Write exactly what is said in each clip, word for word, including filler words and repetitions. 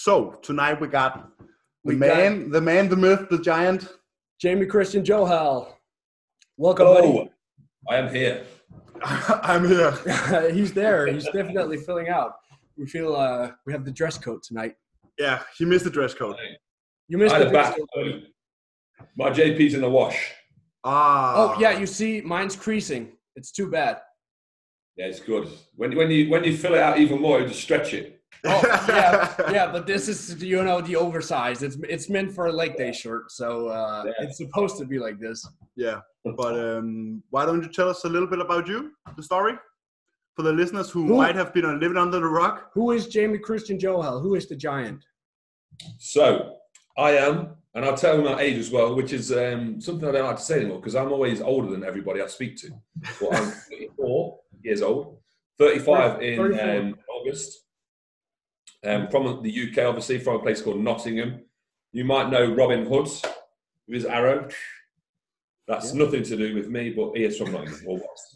So tonight we got the We man, got the man, the myth, the giant. Jamie Christian Johal. Welcome, Hello, I am here. I'm here. buddy. He's there. He's definitely filling out. We feel uh, we have the dress code tonight. Yeah, he missed the dress code. You missed I the had a dress bath. code. early. My J P's in the wash. Ah. Oh yeah, you see, mine's creasing. It's too bad. Yeah, it's good. When when you when you fill it out even more, you just stretch it. Oh yeah, yeah. But this is, you know, the oversized. It's it's meant for a leg day shirt, so uh, Yeah. it's supposed to be like this. Yeah, but um, why don't you tell us a little bit about you, the story, for the listeners who, Who- might have been living under the rock? Who is Jamie Christian Johal? Who is the giant? So I am, and I'll tell you my age as well, which is um, something I don't like to say anymore because I'm always older than everybody I speak to. But I'm thirty-four years old, thirty-five in thirty-four. um, August. Um, from the U K, obviously, from a place called Nottingham. You might know Robin Hood with his arrow. That's Yeah. nothing to do with me, but he is from Nottingham, or was.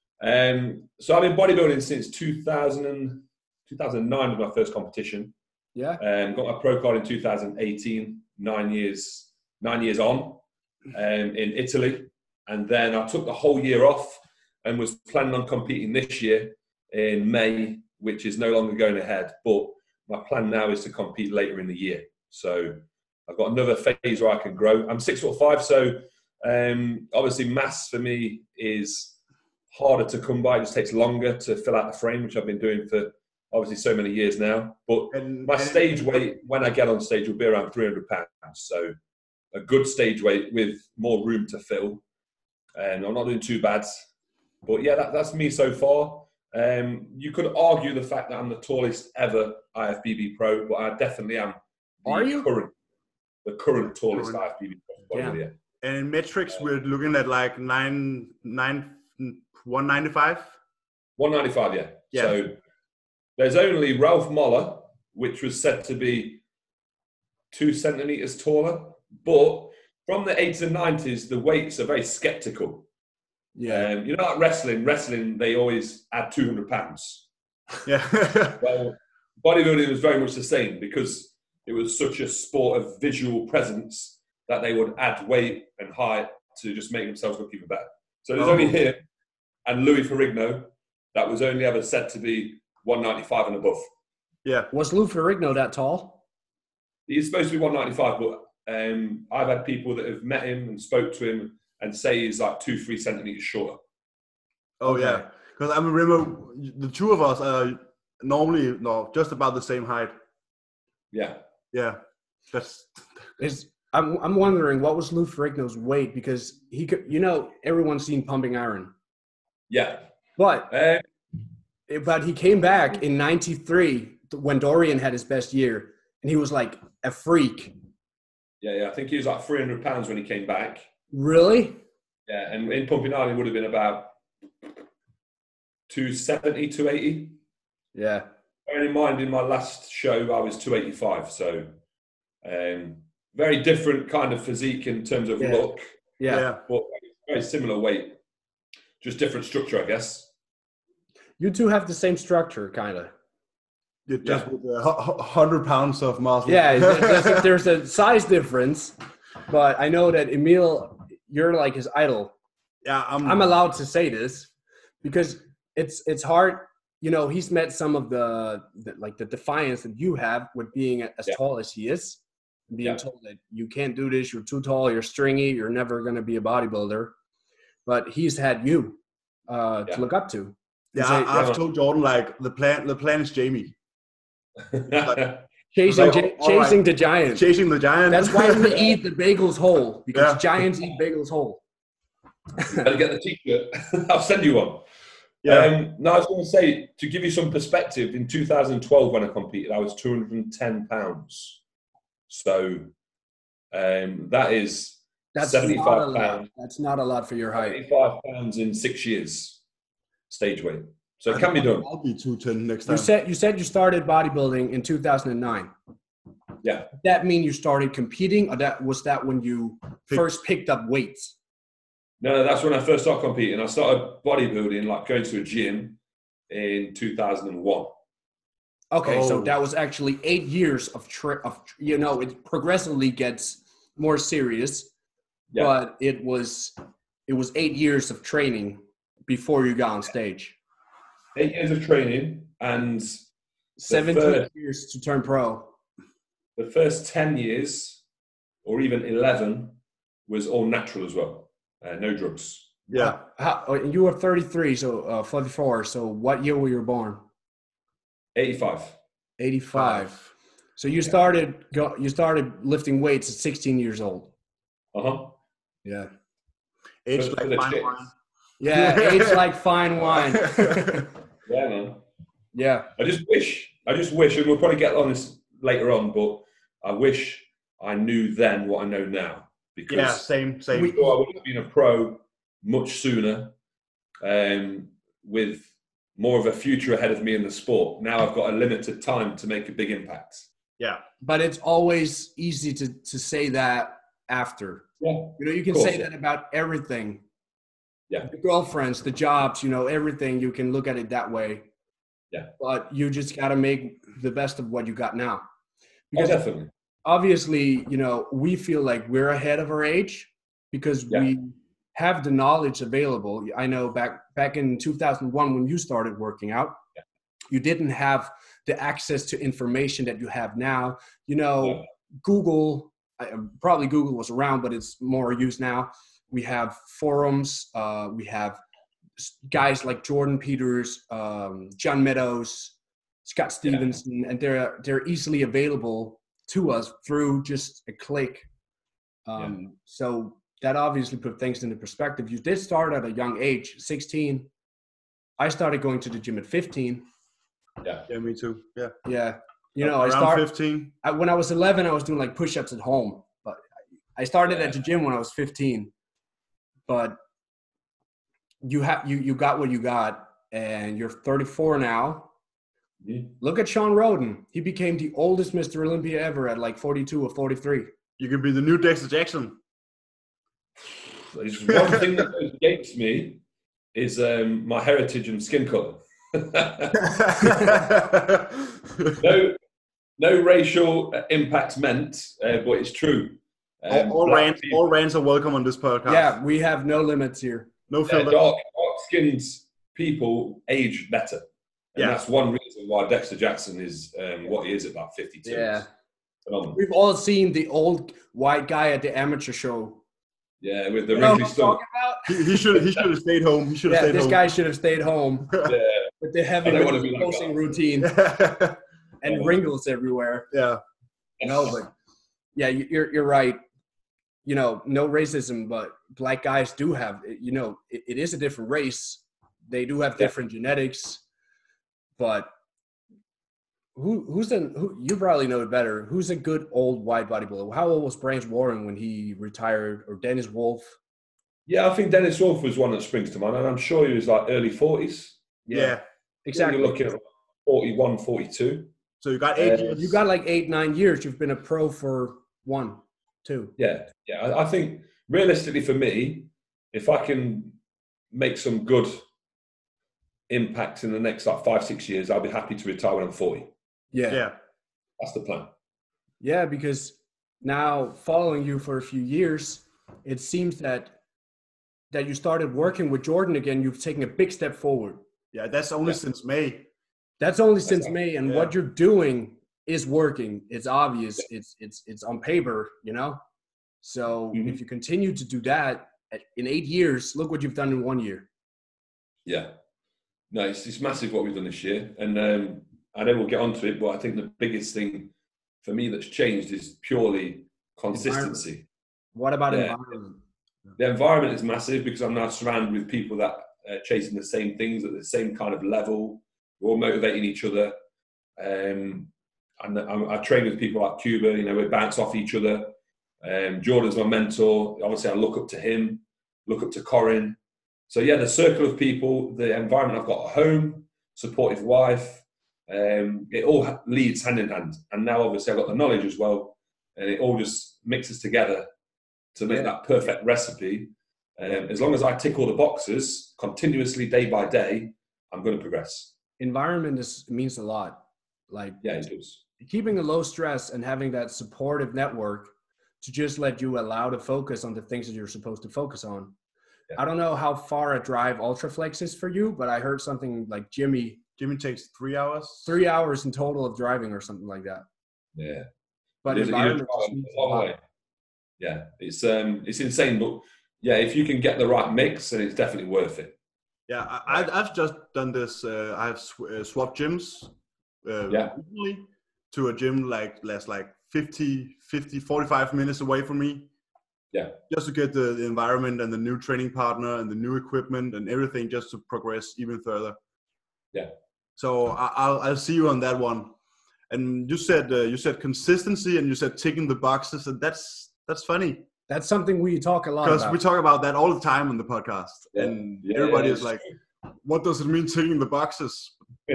Um, so I've been bodybuilding since two thousand, two thousand nine was my first competition. Yeah. Um, got my pro card in two thousand eighteen, nine years, nine years on, um, in Italy, and then I took the whole year off and was planning on competing this year in May, which is no longer going ahead. But my plan now is to compete later in the year. So I've got another phase where I can grow. I'm six foot five, so um, obviously mass for me is harder to come by. It just takes longer to fill out the frame, which I've been doing for obviously so many years now. But And, my and- stage weight when I get on stage will be around three hundred pounds. So a good stage weight with more room to fill. And I'm not doing too bad. But yeah, that, that's me so far. Um, you could argue the fact that I'm the tallest ever I F B B pro, but I definitely am the Are you? current, the current tallest Current. I F B B pro. Yeah. Yeah. And in metrics, we're looking at like nine, nine, one ninety-five. one ninety-five, yeah. Yeah. So there's only Ralph Moller, which was said to be two centimeters taller, but from the eighties and nineties, the weights are very skeptical. Yeah. Um, you know, like wrestling, wrestling, they always add two hundred pounds. Yeah. Well, bodybuilding was very much the same because it was such a sport of visual presence that they would add weight and height to just make themselves look even better. So there's Oh. only him and Louis Ferrigno that was only ever said to be one ninety-five and above. Yeah. Was Lou Ferrigno that tall? He's supposed to be one ninety-five, but um, I've had people that have met him and spoke to him and say he's like two, three centimeters shorter. Oh Okay. yeah. Because I remember the two of us are normally no just about the same height. Yeah. Yeah. That's Is I'm I'm wondering what was Lou Ferrigno's weight, because he could, you know, everyone's seen Pumping Iron, Yeah. but Uh, but he came back in ninety-three when Dorian had his best year, and he was like a freak. yeah, yeah. I think he was like three hundred pounds when he came back. Really? Yeah, and in Pumping Iron, he would have been about two seventy, two eighty. Yeah. Bearing in mind, in my last show, I was two eighty-five. So, um, very different kind of physique in terms of Yeah. look, Yeah. yeah. but very similar weight. Just different structure, I guess. You two have the same structure, kind of. You're just Yeah. with a hu- hu- hundred pounds of muscle. Yeah. There's a, there's a size difference, but I know that Emil, you're like his idol. yeah. I'm. I'm allowed to say this because it's it's hard. You know, he's met some of the, the like the defiance that you have with being as Yeah. tall as he is, being Yeah. told that you can't do this, you're too tall, you're stringy, you're never going to be a bodybuilder. But he's had you uh, Yeah. to look up to. Yeah, Say- I, I've told Jordan like the plan. The plan is Jamie Chasing, Like, gi- all right. chasing the giant. chasing the giant. That's why we eat the bagels whole, because Yeah. giants eat bagels whole. Better get the t-shirt. I'll send you one. Yeah. Um, no, I was going to say, to give you some perspective, in two thousand twelve when I competed, I was two hundred ten pounds. So um, that is That's not a seventy-five lot. pounds. That's not a lot for your height. seventy-five pounds in six years, stage weight. So it can be done. I'll be two ten next time. You said you said you started bodybuilding in two thousand nine. Yeah. Did that mean you started competing, or that was that when you Pick- first picked up weights? No, that's when I first started competing. I started bodybuilding, like going to a gym in two thousand one. Okay, so Oh. that was actually eight years of, tra- of you know, it progressively gets more serious, Yeah. but it was it was eight years of training before you got on stage. Eight years of training, and seventeen first- years to turn pro. the first ten years, or even eleven, was all natural as well. Uh, no drugs. Yeah. How, how, you were thirty-three, so uh, forty-four. So what year were you born? eighty-five. eighty-five. So you started go, you started lifting weights at sixteen years old. Uh-huh. Yeah. Age For- for like the fine chicks. wine. Yeah, age like fine wine. Yeah, man. Yeah. I just wish, I just wish, and we'll probably get on this later on, but I wish I knew then what I know now. Because Yeah, same, same. We- I would have been a pro much sooner, um, with more of a future ahead of me in the sport. Now I've got a limited time to make a big impact. yeah. But it's always easy to, to say that after. Yeah. You know, you can Of course, say yeah. that about everything. Yeah. The girlfriends, the jobs, you know, everything. You can look at it that way. Yeah. But you just got to make the best of what you got now. Oh, Because definitely. obviously, you know, we feel like we're ahead of our age because Yeah. we have the knowledge available. I know back back in two thousand one when you started working out, Yeah. you didn't have the access to information that you have now. You know, Yeah. Google, I- probably Google was around, but it's more used now. We have forums. Uh, we have s- guys like Jordan Peters, um, John Meadows, Scott Stevenson, and they're they're easily available to us through just a click. Um, So that obviously put things into perspective. You did start at a young age, sixteen. I started going to the gym at fifteen. Yeah. Yeah, me too. Yeah. Yeah, you know, I Around started fifteen. I, when I was eleven. I was doing like push-ups at home, but I started Yeah. at the gym when I was fifteen. But you have you you got what you got, and you're thirty-four now. Mhm. Look at Sean Roden. He became the oldest Mister Olympia ever at like forty-two or forty-three. You can be the new Dexter Jackson. There's one thing that goes against me is um, my heritage and skin color. no, no racial impact meant, uh, but it's true. Um, all, all, black rants, people- all rants are welcome on this podcast. Yeah, we have no limits here. No uh, filter. dark, dark-skinned people age better. And Yeah. that's one reason why Dexter Jackson is um, what he is at about fifty-two. Yeah. It's phenomenal. We've all seen the old white guy at the amateur show. Yeah, with the You know wrinkly what I'm stomach. talking about? He, he should he should have stayed home. He should have Yeah, stayed this home. guy should have stayed home Yeah, with the heavy I don't wanna be like posing that. routine yeah. and wrinkles everywhere. Yeah. No, but yeah, you- you're you're right. You know, no racism, but black guys do have. You know, it, it is a different race. They do have Yeah. different genetics, but who who's the who you probably know it better? Who's a good old white bodybuilder? How old was Branch Warren when he retired, or Dennis Wolf? Yeah, I think Dennis Wolf was one that springs to mind, and I'm sure he was like early forties. Yeah. exactly. You're looking at forty-one, forty-two. So you got eight Uh, years. You got like eight, nine years. You've been a pro for one, two. Yeah, yeah. I, I think realistically for me, if I can make some good impact in the next like five, six years, I'll be happy to retire when I'm forty. Yeah. yeah. That's the plan. Yeah, because now following you for a few years, it seems that that you started working with Jordan again. You've taken a big step forward. Yeah. That's only Yeah. since May. That's only since right. May, and Yeah. what you're doing is working. It's obvious. It's it's it's on paper, you know. So Mhm. if you continue to do that at- in eight years, look what you've done in one year. Yeah. No, it's, it's massive what we've done this year. And um, I know we'll get onto it, but I think the biggest thing for me that's changed is purely consistency. What about Yeah. environment? The environment is massive because I'm now surrounded with people that are chasing the same things at the same kind of level. We're all motivating each other. Um, and I, I train with people like Cuba, you know, we bounce off each other. Um, Jordan's my mentor. Obviously, I look up to him, look up to Corin. So, yeah, the circle of people, the environment I've got at home, supportive wife, um, it all ha- leads hand in hand. And now, obviously, I've got the knowledge as well. And it all just mixes together to make Yeah. that perfect recipe. Um, as long as I tick all the boxes continuously, day by day, I'm going to progress. Environment is means a lot. Like Yeah, it does. keeping a low stress and having that supportive network to just let you allow to focus on the things that you're supposed to focus on. Yeah. I don't know how far a drive Ultraflex is for you, but I heard something like Jimmy, Jimmy takes three hours. three hours in total of driving or something like that. Yeah. But It is- it is environment quite just a needs a long lot. way. Yeah, it's um, it's insane, but yeah, if you can get the right mix, then it's definitely worth it. Yeah, I, I- I've just done this. Uh, I've sw- uh, swapped gyms uh, Yeah. recently to a gym like less like fifty, fifty, forty-five minutes away from me. Yeah. Just to get the, the environment and the new training partner and the new equipment and everything just to progress even further. Yeah. So I, I'll I'll see you on that one. And you said uh, you said consistency and you said ticking the boxes, and that's that's funny That's something we talk a lot because about. we talk about that all the time on the podcast, Yeah. and Yeah, everybody yeah, is it's like, "What does it mean ticking the boxes?"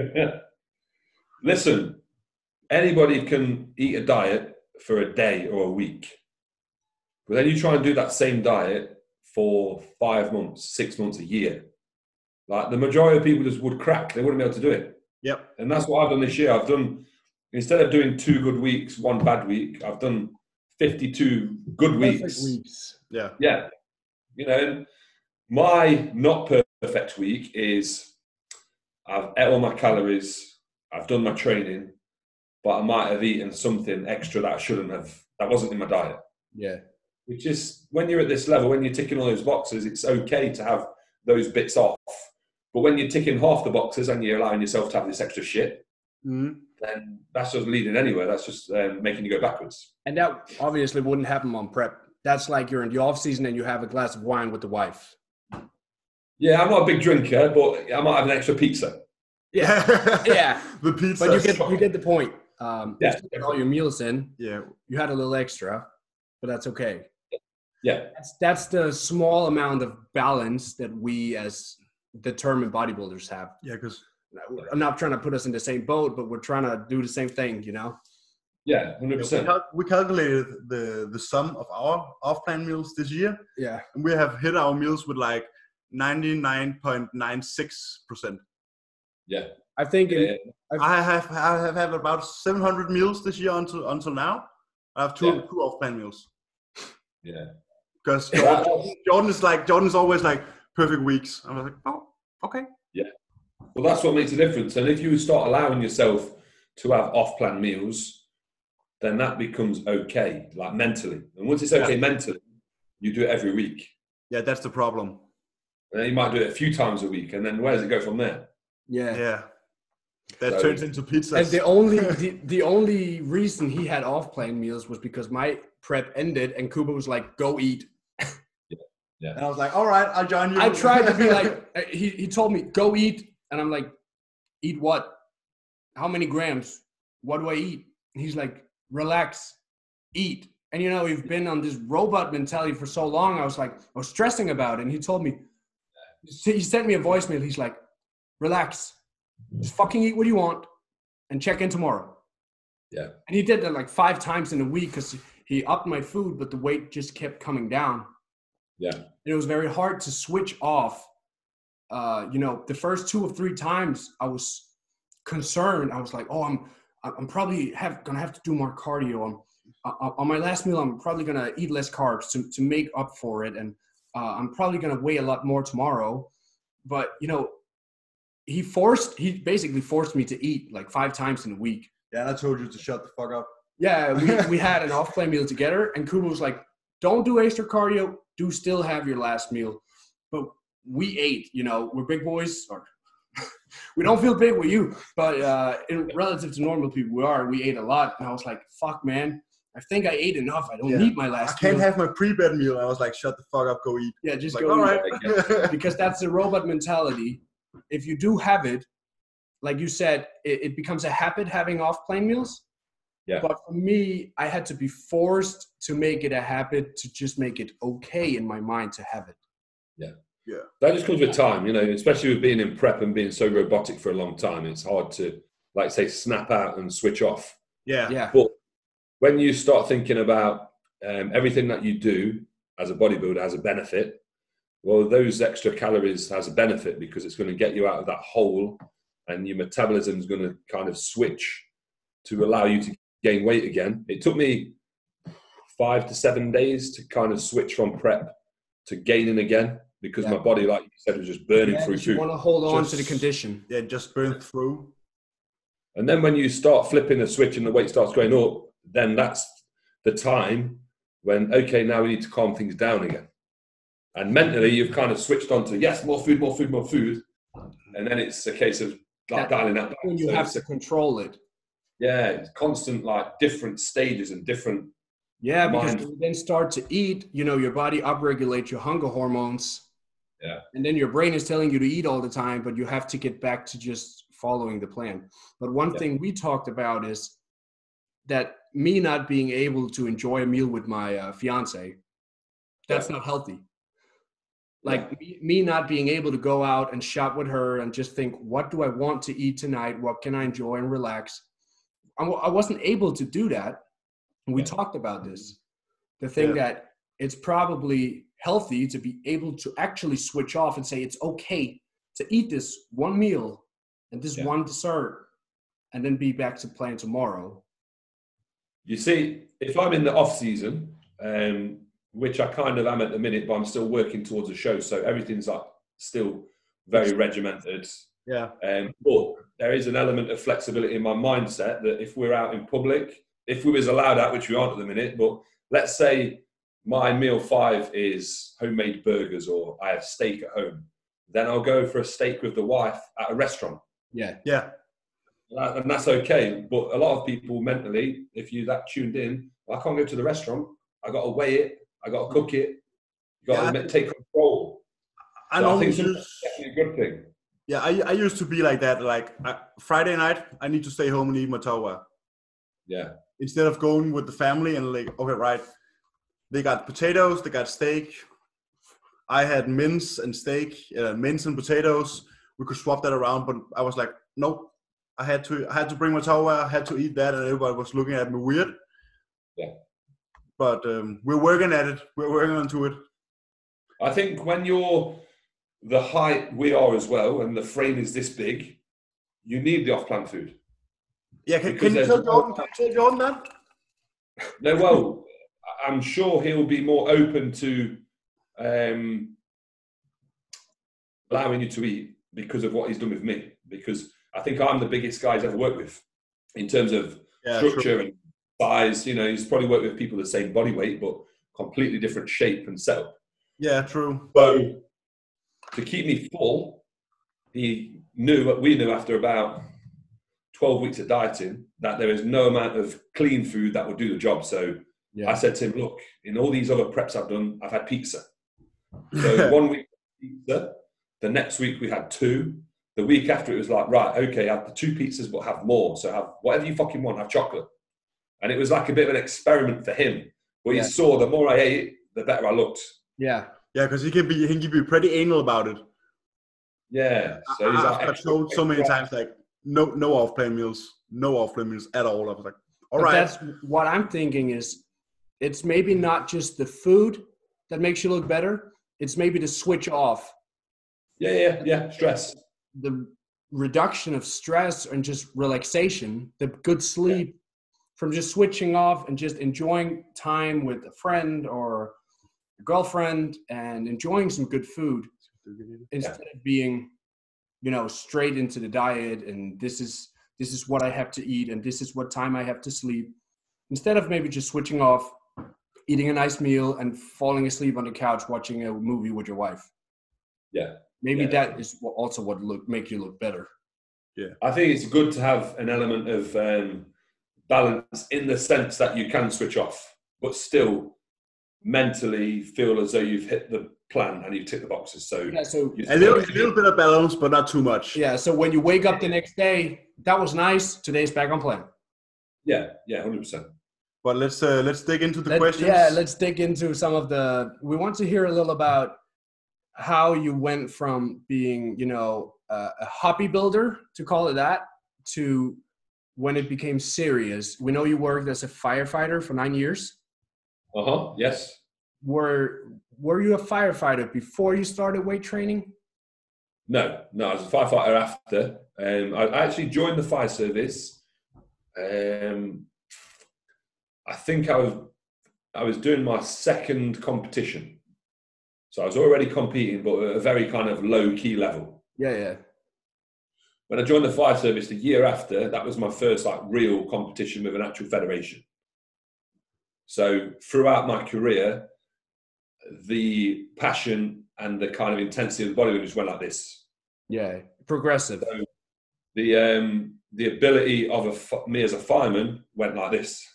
Listen, anybody can eat a diet for a day or a week, but then you try and do that same diet for five months, six months, a year. Like the majority of people just would crack; they wouldn't be able to do it. Yep. And that's what I've done this year. I've done, instead of doing two good weeks, one bad week, I've done fifty-two good Perfect weeks. weeks. Yeah. Yeah. You know, and my not perfect week is I've ate all my calories, I've done my training, but I might have eaten something extra that I shouldn't have, that wasn't in my diet. Yeah. Which is, when you're at this level, when you're ticking all those boxes, it's okay to have those bits off. But when you're ticking half the boxes and you're allowing yourself to have this extra shit, Mhm. then that's just leading anywhere. That's just um, making you go backwards. And that obviously wouldn't happen on prep. That's like you're in the off season and you have a glass of wine with the wife. Yeah, I'm not a big drinker, but I might have an extra pizza. Yeah. Yeah. The pizza. But you get you get the point. Um, Yeah. you still get all your meals in. Yeah. You had a little extra, but that's okay. Yeah, That's that's the small amount of balance that we as determined bodybuilders have. Yeah, because I'm not trying to put us in the same boat, but we're trying to do the same thing, you know? yeah, one hundred we, percent. cal- we calculated the the sum of our off-plan meals this year, Yeah. and we have hit our meals with like ninety-nine point nine six percent. Yeah. I think in, Yeah. I have I have had about seven hundred meals this year until until now. I have two Yeah. two off-plan meals Yeah. because Jordan, Jordan is like Jordan is always like perfect weeks. I was like, oh, okay. Well, that's what makes a difference. And if you start allowing yourself to have off-plan meals, then that becomes okay, like mentally. And once it's okay mentally, you do it every week. Yeah, that's the problem. And then you might do it a few times a week. And then where does it go from there? yeah. Yeah, that So- turns into pizza. And the only the, the only reason he had off-plane meals was because my prep ended and Kuba was like, "Go eat." And I was like, all right, I'll join you. I tried to be like, uh, he he told me, "Go eat," and I'm like, "Eat what? How many grams? What do I eat?" And he's like, "Relax, eat." And you know, we've been on this robot mentality for so long. I was like, I was stressing about it. And he told me, he sent me a voicemail. He's like, "Relax, just fucking eat what you want, and check in tomorrow." Yeah. And he did that like five times in a week because he upped my food, but the weight just kept coming down. Yeah. It was very hard to switch off. Uh, you know, the first two or three times I was concerned. I was like, "Oh, I'm, I'm probably have gonna have to do more cardio. I'm, uh, on my last meal, I'm probably gonna eat less carbs to to make up for it, and uh, I'm probably gonna weigh a lot more tomorrow." But you know, he forced, he basically forced me to eat like five times in a week. Yeah, and I told you to shut the fuck up. Yeah, we, we had an off-play meal together, and Kuba was like, "Don't do extra cardio. Do still have your last meal." But we ate, you know, we're big boys, or we don't feel big with you, but uh, in relative to normal people, we are. We ate a lot, and I was like, "Fuck, man, I think I ate enough. I don't Yeah. need my I last can't meal." have my pre-bed meal. I was like, shut the fuck up, go eat. Yeah, just Like, go. all eat. right. Because that's the robot mentality. If you do have it, like you said, it, it becomes a habit having off-plane meals. Yeah. But for me, I had to be forced to make it a habit to just make it okay in my mind to have it. That just comes with time, you know, especially with being in prep and being so robotic for a long time. It's hard to, like, say, snap out and switch off. yeah. Yeah. But when you start thinking about um, everything that you do as a bodybuilder has a benefit, well, those extra calories has a benefit because it's going to get you out of that hole and your metabolism is going to kind of switch to allow you to gain weight again. It took me five to seven days to kind of switch from prep to gaining again, because Yeah. my body, like you said, was just burning Yeah, through you food. want to hold on Just- to the condition. Yeah, just burn through. And then when you start flipping the switch and the weight starts going up, then that's the time when, okay, now we need to calm things down again. And mentally, you've kind of switched on to, yes, more food, more food, more food. And then it's a case of like That- dialing that back. When you So have it's to a- control it. yeah, it's constant, like different stages and different. Yeah, because Mind. when you then start to eat, you know, your body upregulates your hunger hormones. Yeah. And then your brain is telling you to eat all the time, but you have to get back to just following the plan. But one Yeah. thing we talked about is that me not being able to enjoy a meal with my uh, fiance, that's Yeah. not healthy. Like me, me not being able to go out and shop with her and just think, what do I want to eat tonight? What can I enjoy and relax? I w- I wasn't able to do that. And we Yeah. talked about this. The thing Yeah. that it's probably healthy to be able to actually switch off and say it's okay to eat this one meal and this Yeah. one dessert and then be back to playing tomorrow. You see, if I'm in the off season, um, which I kind of am at the minute, but I'm still working towards a show, so everything's like still very regimented. Yeah. Um, but there is an element of flexibility in my mindset that if we're out in public, if we was allowed out, which we aren't at the minute, but let's say my meal five is homemade burgers or I have steak at home, then I'll go for a steak with the wife at a restaurant. Yeah. Yeah. And that's okay. But a lot of people mentally, if you're that tuned in, I can't go to the restaurant. I got to weigh it. I got to cook it. You got Yeah, to I- take control. I So I normally think sometimes use, it's definitely a good thing. yeah, I, I used to be like that. Like I, Friday night, I need to stay home and eat my tawa. Yeah. Instead of going with the family and like, okay, right, they got potatoes, they got steak. I had mince and steak, uh, mince and potatoes. We could swap that around, but I was like, nope. I had to, I had to bring my tawa. I had to eat that, and everybody was looking at me weird. Yeah. But um, we're working at it. We're working onto it. I think when you're the height we are as well, and the frame is this big, you need the off-plan food. Yeah, can, Because can you there's tell no- Jordan? Can you tell Jordan that? No, well, I'm sure he'll be more open to um, allowing you to eat because of what he's done with me. Because I think I'm the biggest guy he's ever worked with in terms of Yeah, structure and size. You know, he's probably worked with people the same body weight, but completely different shape and setup. Yeah, true. So to keep me full, he knew, we knew after about twelve weeks of dieting that there is no amount of clean food that would do the job. So Yeah. I said to him, look, in all these other preps I've done, I've had pizza. So one week pizza, the next week we had two. The week after it was like, right, okay, have the two pizzas, but have more. So have whatever you fucking want, have chocolate. And it was like a bit of an experiment for him. But Yeah. he saw the more I ate, the better I looked. Yeah. Yeah, because he can be, he can be pretty anal about it. Yeah. So he's I, like, I've told so many times, like, no, no off-plan meals, no off-plan meals at all. I was like, all But right. that's what I'm thinking is it's maybe not just the food that makes you look better. It's maybe the switch off, yeah, yeah, yeah, stress. the reduction of stress and just relaxation, the good sleep from just switching off and just enjoying time with a friend or a girlfriend and enjoying some good food instead of being, you know, straight into the diet and this is this is what I have to eat and this is what time I have to sleep. Instead of maybe just switching off, eating a nice meal and falling asleep on the couch watching a movie with your wife. Yeah. Maybe Yeah. that is what- also what look make you look better. I think it's good to have an element of um, balance in the sense that you can switch off, but still mentally feel as though you've hit the plan and you've ticked the boxes. So Yeah, so you A little, a little bit of balance, but not too much. yeah, so when you wake up the next day, that was nice. Today's back on plan. yeah, yeah, one hundred percent. But let's uh, let's dig into the Let- questions. Yeah, let's dig into some of the. We want to hear a little about how you went from being, you know, uh, a hobby builder, to call it that, to when it became serious. We know you worked as a firefighter for nine years. Uh huh. Yes. Were Were you a firefighter before you started weight training? No, no. I was a firefighter after. Um, I I actually joined the fire service Um, I think I was I was doing my second competition, so I was already competing, but at a very kind of low key level. Yeah, yeah. When I joined the fire service the year after, that was my first like real competition with an actual federation. So throughout my career, the passion and the kind of intensity of the bodybuilding just went like this. Yeah, progressive. So the um, the ability of a, me as a fireman went like this.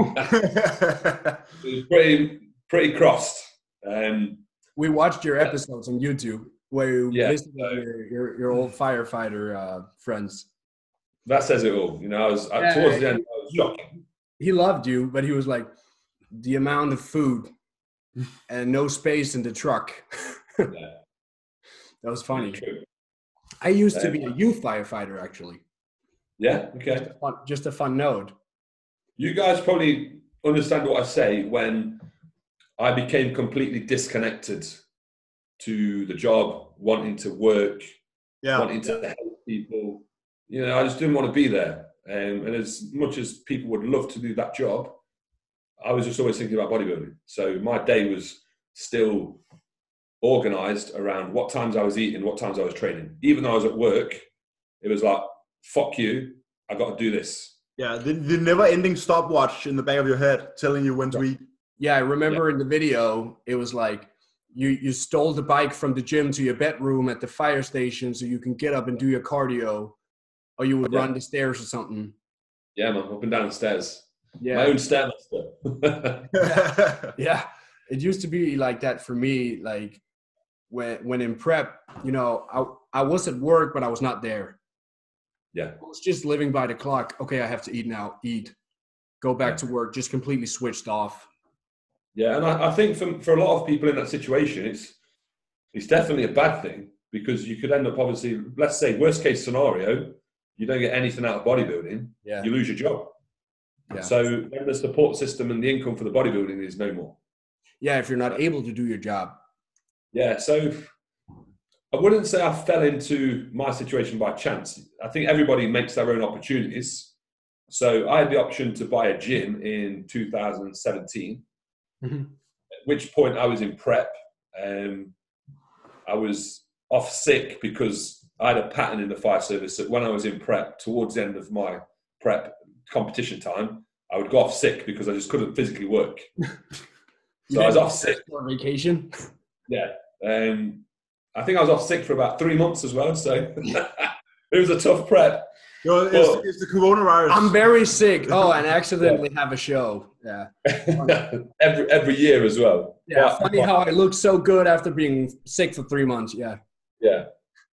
It was pretty pretty crossed. Um, we watched your episodes on YouTube where you yeah, visited so, your, your your old firefighter uh, friends. That says it all. You know, I was Yeah, towards the end. I was shocking. He loved you, but he was like, the amount of food and no space in the truck. Yeah. That was funny. True. I used to be a youth firefighter, actually. Yeah. Okay. Just a fun, just a fun note. You guys probably understand what I say when I became completely disconnected to the job, wanting to work, yeah. wanting to help people. You know, I just didn't want to be there. Um, and as much as people would love to do that job, I was just always thinking about bodybuilding. So my day was still organized around what times I was eating, what times I was training. Even though I was at work, it was like, fuck you, I got to do this. Yeah, the, the never-ending stopwatch in the back of your head telling you when to eat. Yeah, I remember yeah. in the video, it was like, you, you stole the bike from the gym to your bedroom at the fire station so you can get up and do your cardio, or you would yeah. run the stairs or something. Yeah, man, up and down the stairs. Yeah. My own stairmaster. Yeah, it used to be like that for me. Like when when in prep, you know, I I was at work, but I was not there. Yeah, I was just living by the clock. Okay, I have to eat now. Eat, go back yeah. to work. Just completely switched off. Yeah, and I, I think for for a lot of people in that situation, it's it's definitely a bad thing because you could end up obviously, let's say worst case scenario, you don't get anything out of bodybuilding. Yeah, you lose your job. Yeah. So then the support system and the income for the bodybuilding is no more. Yeah, if you're not able to do your job. Yeah, so I wouldn't say I fell into my situation by chance. I think everybody makes their own opportunities. So I had the option to buy a gym in two thousand seventeen, mm-hmm. at which point I was in prep. Um, I was off sick because I had a pattern in the fire service that when I was in prep, towards the end of my prep competition time, I would go off sick because I just couldn't physically work. So I was off sick. On vacation? Yeah. Um, I think I was off sick for about three months as well. So it was a tough prep. Yo, it's, but, it's the coronavirus. I'm very sick. Oh, and accidentally yeah. have a show. Yeah. every every year as well. Yeah. But, funny but, how I looked so good after being sick for three months. Yeah. Yeah.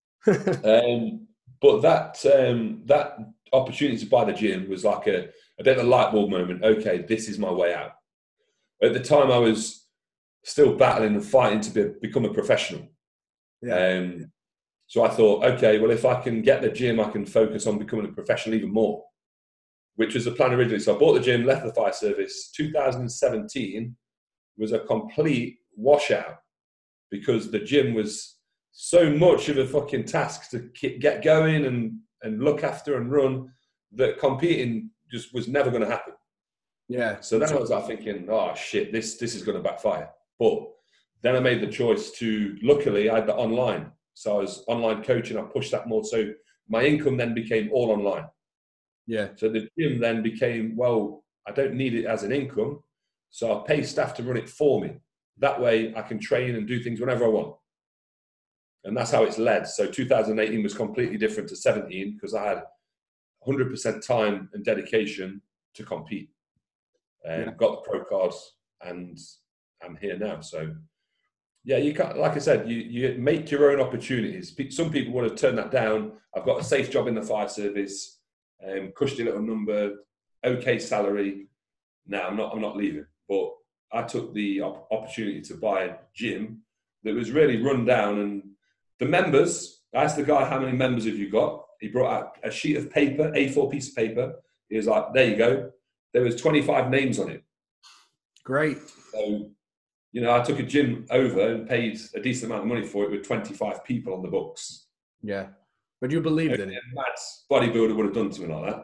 um, but that um, that opportunity to buy the gym was like a, a bit of a light bulb moment. Okay, this is my way out. At the time, I was still battling and fighting to be, become a professional. Yeah. Um, so I thought, okay, well, if I can get the gym, I can focus on becoming a professional even more, which was the plan originally. So I bought the gym, left the fire service. two thousand seventeen was a complete washout because the gym was so much of a fucking task to get going and, and look after and run that competing just was never going to happen. Yeah. So then I was like thinking, oh shit, this this is going to backfire. But then I made the choice to, luckily I had the online. So I was online coaching, I pushed that more. So my income then became all online. Yeah. So the gym then became, well, I don't need it as an income. So I'll pay staff to run it for me. That way I can train and do things whenever I want. And that's how it's led. So two thousand eighteen was completely different to seventeen because I had one hundred percent time and dedication to compete. Um, yeah. Got the pro cards and I'm here now. So yeah, you can't, like I said, you, you make your own opportunities. Some people would have turned that down. I've got a safe job in the fire service, um, cushy little number, okay salary. No, I'm not, I'm not leaving. But I took the op- opportunity to buy a gym that was really run down. And the members, I asked the guy, how many members have you got? He brought out a sheet of paper, A four piece of paper. He was like, there you go. There was twenty-five names on it. Great. So, you know, I took a gym over and paid a decent amount of money for it with twenty-five people on the books. Yeah. But you believed in it. A mad bodybuilder would have done something like that.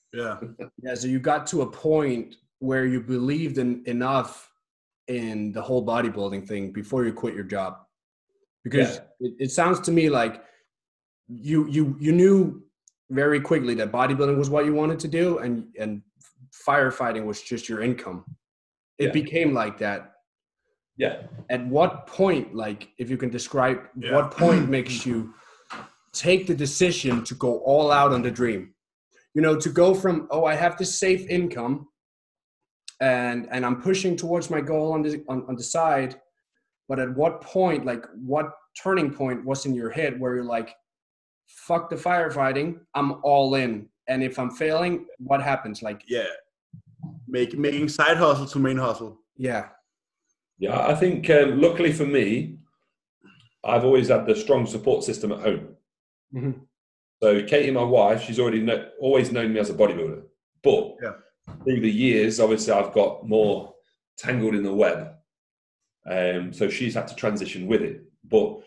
Yeah. Yeah, so you got to a point where you believed in enough in the whole bodybuilding thing before you quit your job. Because Yeah. it, it sounds to me like you you you knew very quickly that bodybuilding was what you wanted to do, and and firefighting was just your income. It Yeah. became like that. Yeah. At what point, like, if you can describe Yeah. what point makes you take the decision to go all out on the dream? You know, to go from, oh, I have this safe income and and I'm pushing towards my goal on the on, on the side, but at what point, like, what turning point was in your head where you're like, fuck the firefighting, I'm all in, and if I'm failing, what happens? Like, Yeah. Make, making side hustle to main hustle. yeah. Yeah, I think um, luckily for me, I've always had the strong support system at home. Mm-hmm. So Katie, my wife, she's already know, always known me as a bodybuilder. But Yeah. through the years, obviously, I've got more tangled in the web. Um, so she's had to transition with it. But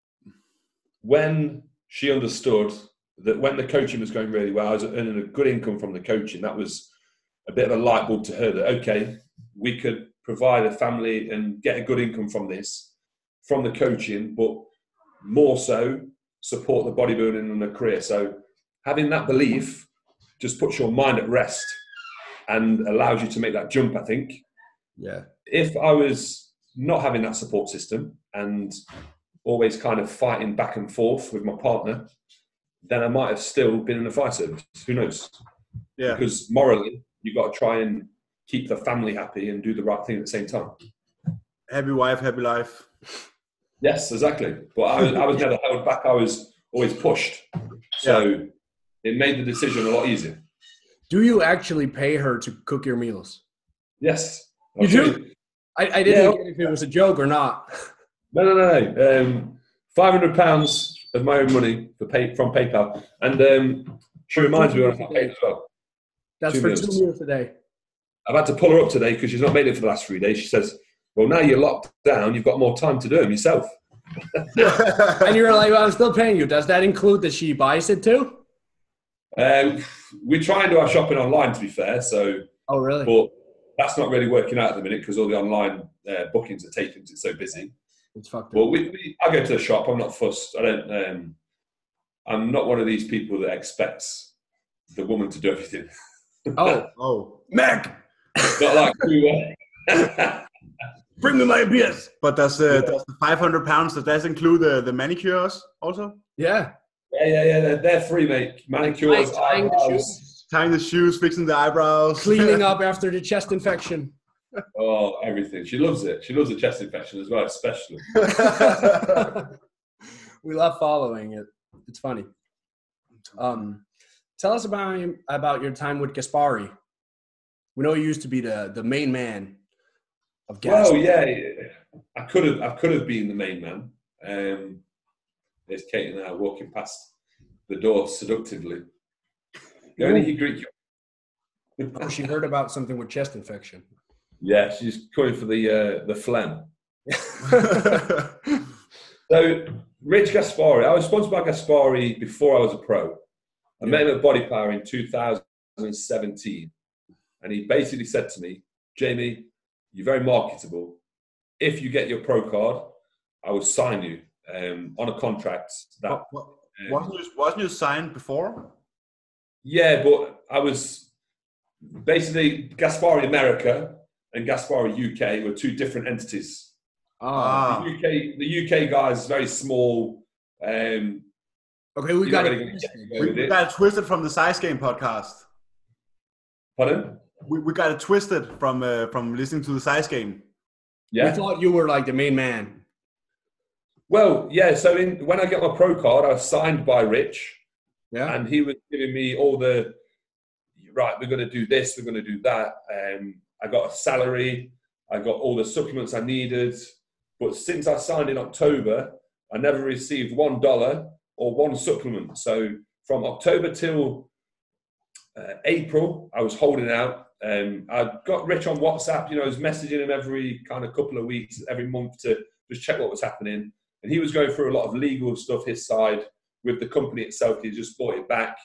when she understood that when the coaching was going really well, I was earning a good income from the coaching, that was a bit of a light bulb to her that, okay, we could provide a family and get a good income from this, from the coaching, but more so support the bodybuilding and the career. So having that belief just puts your mind at rest and allows you to make that jump, I think. Yeah. If I was not having that support system and always kind of fighting back and forth with my partner, then I might have still been in the fire service. Who knows? Yeah. Because morally, you've got to try and keep the family happy and do the right thing at the same time. Happy wife, happy life. Yes, exactly. But I was, I was never held back. I was always pushed. So yeah. It made the decision a lot easier. Do you actually pay her to cook your meals? Yes. You do? I, I didn't yeah. get if it was a joke or not. No, no, no. no. Um, five hundred pounds of my own money for pay, from PayPal. And um, she reminds me when I get paid as well. That's two for meals. two meals a day. I've had to pull her up today because she's not made it for the last three days. She says, well, now you're locked down, you've got more time to do them yourself. And you're like, well, I'm still paying you. Does that include that she buys it too? Um, we try and do our shopping online, to be fair. So, oh, really? But that's not really working out at the minute because all the online uh, bookings are taken. It's so busy. It's fucked up. Well, we, we, I go to the shop. I'm not fussed. I don't. Um, I'm not one of these people that expects the woman to do everything. Oh, oh, Mac. Not like you. Uh, Bring me my beers. But does, uh, does the five hundred pounds, does that include the, the manicures also? Yeah. Yeah, yeah, yeah. They're, they're free, mate. Manicures, like tying the shoes. Tying the shoes, fixing the eyebrows. Cleaning up after the chest infection. Oh, everything. She loves it. She loves the chest infection as well, especially. We love following it. It's funny. Um, tell us about, about your time with Gaspari. We know you used to be the, the main man of Gaspari. Well, yeah, I could have I could have been the main man. Um, there's Kate and I walking past the door seductively. Going to Greek. Oh, she heard about something with chest infection. Yeah, she's going for the uh, the phlegm. So, Rich Gaspari, I was sponsored by Gaspari before I was a pro. I yeah. met him at Body Power in two thousand seventeen. And he basically said to me, Jamie, you're very marketable. If you get your pro card, I will sign you um, on a contract. That um, wasn't, you, wasn't you signed before? Yeah, but I was basically Gaspari America and Gaspari U K were two different entities. Ah. The U K, the U K guy is very small. Um, okay, we got really it. We, we got it twisted from the Size Game podcast. Pardon? We, we got it twisted from uh, from listening to the Size Game. Yeah. We thought you were like the main man. Well, yeah. So in, when I got my pro card, I was signed by Rich. Yeah. And he was giving me all the, right, we're going to do this, we're going to do that. Um, I got a salary. I got all the supplements I needed. But since I signed in October, I never received one dollar or one supplement. So from October till uh, April, I was holding out. Um, I got Rich on WhatsApp. You know, I was messaging him every kind of couple of weeks, every month to just check what was happening. And he was going through a lot of legal stuff his side with the company itself. He just bought it back.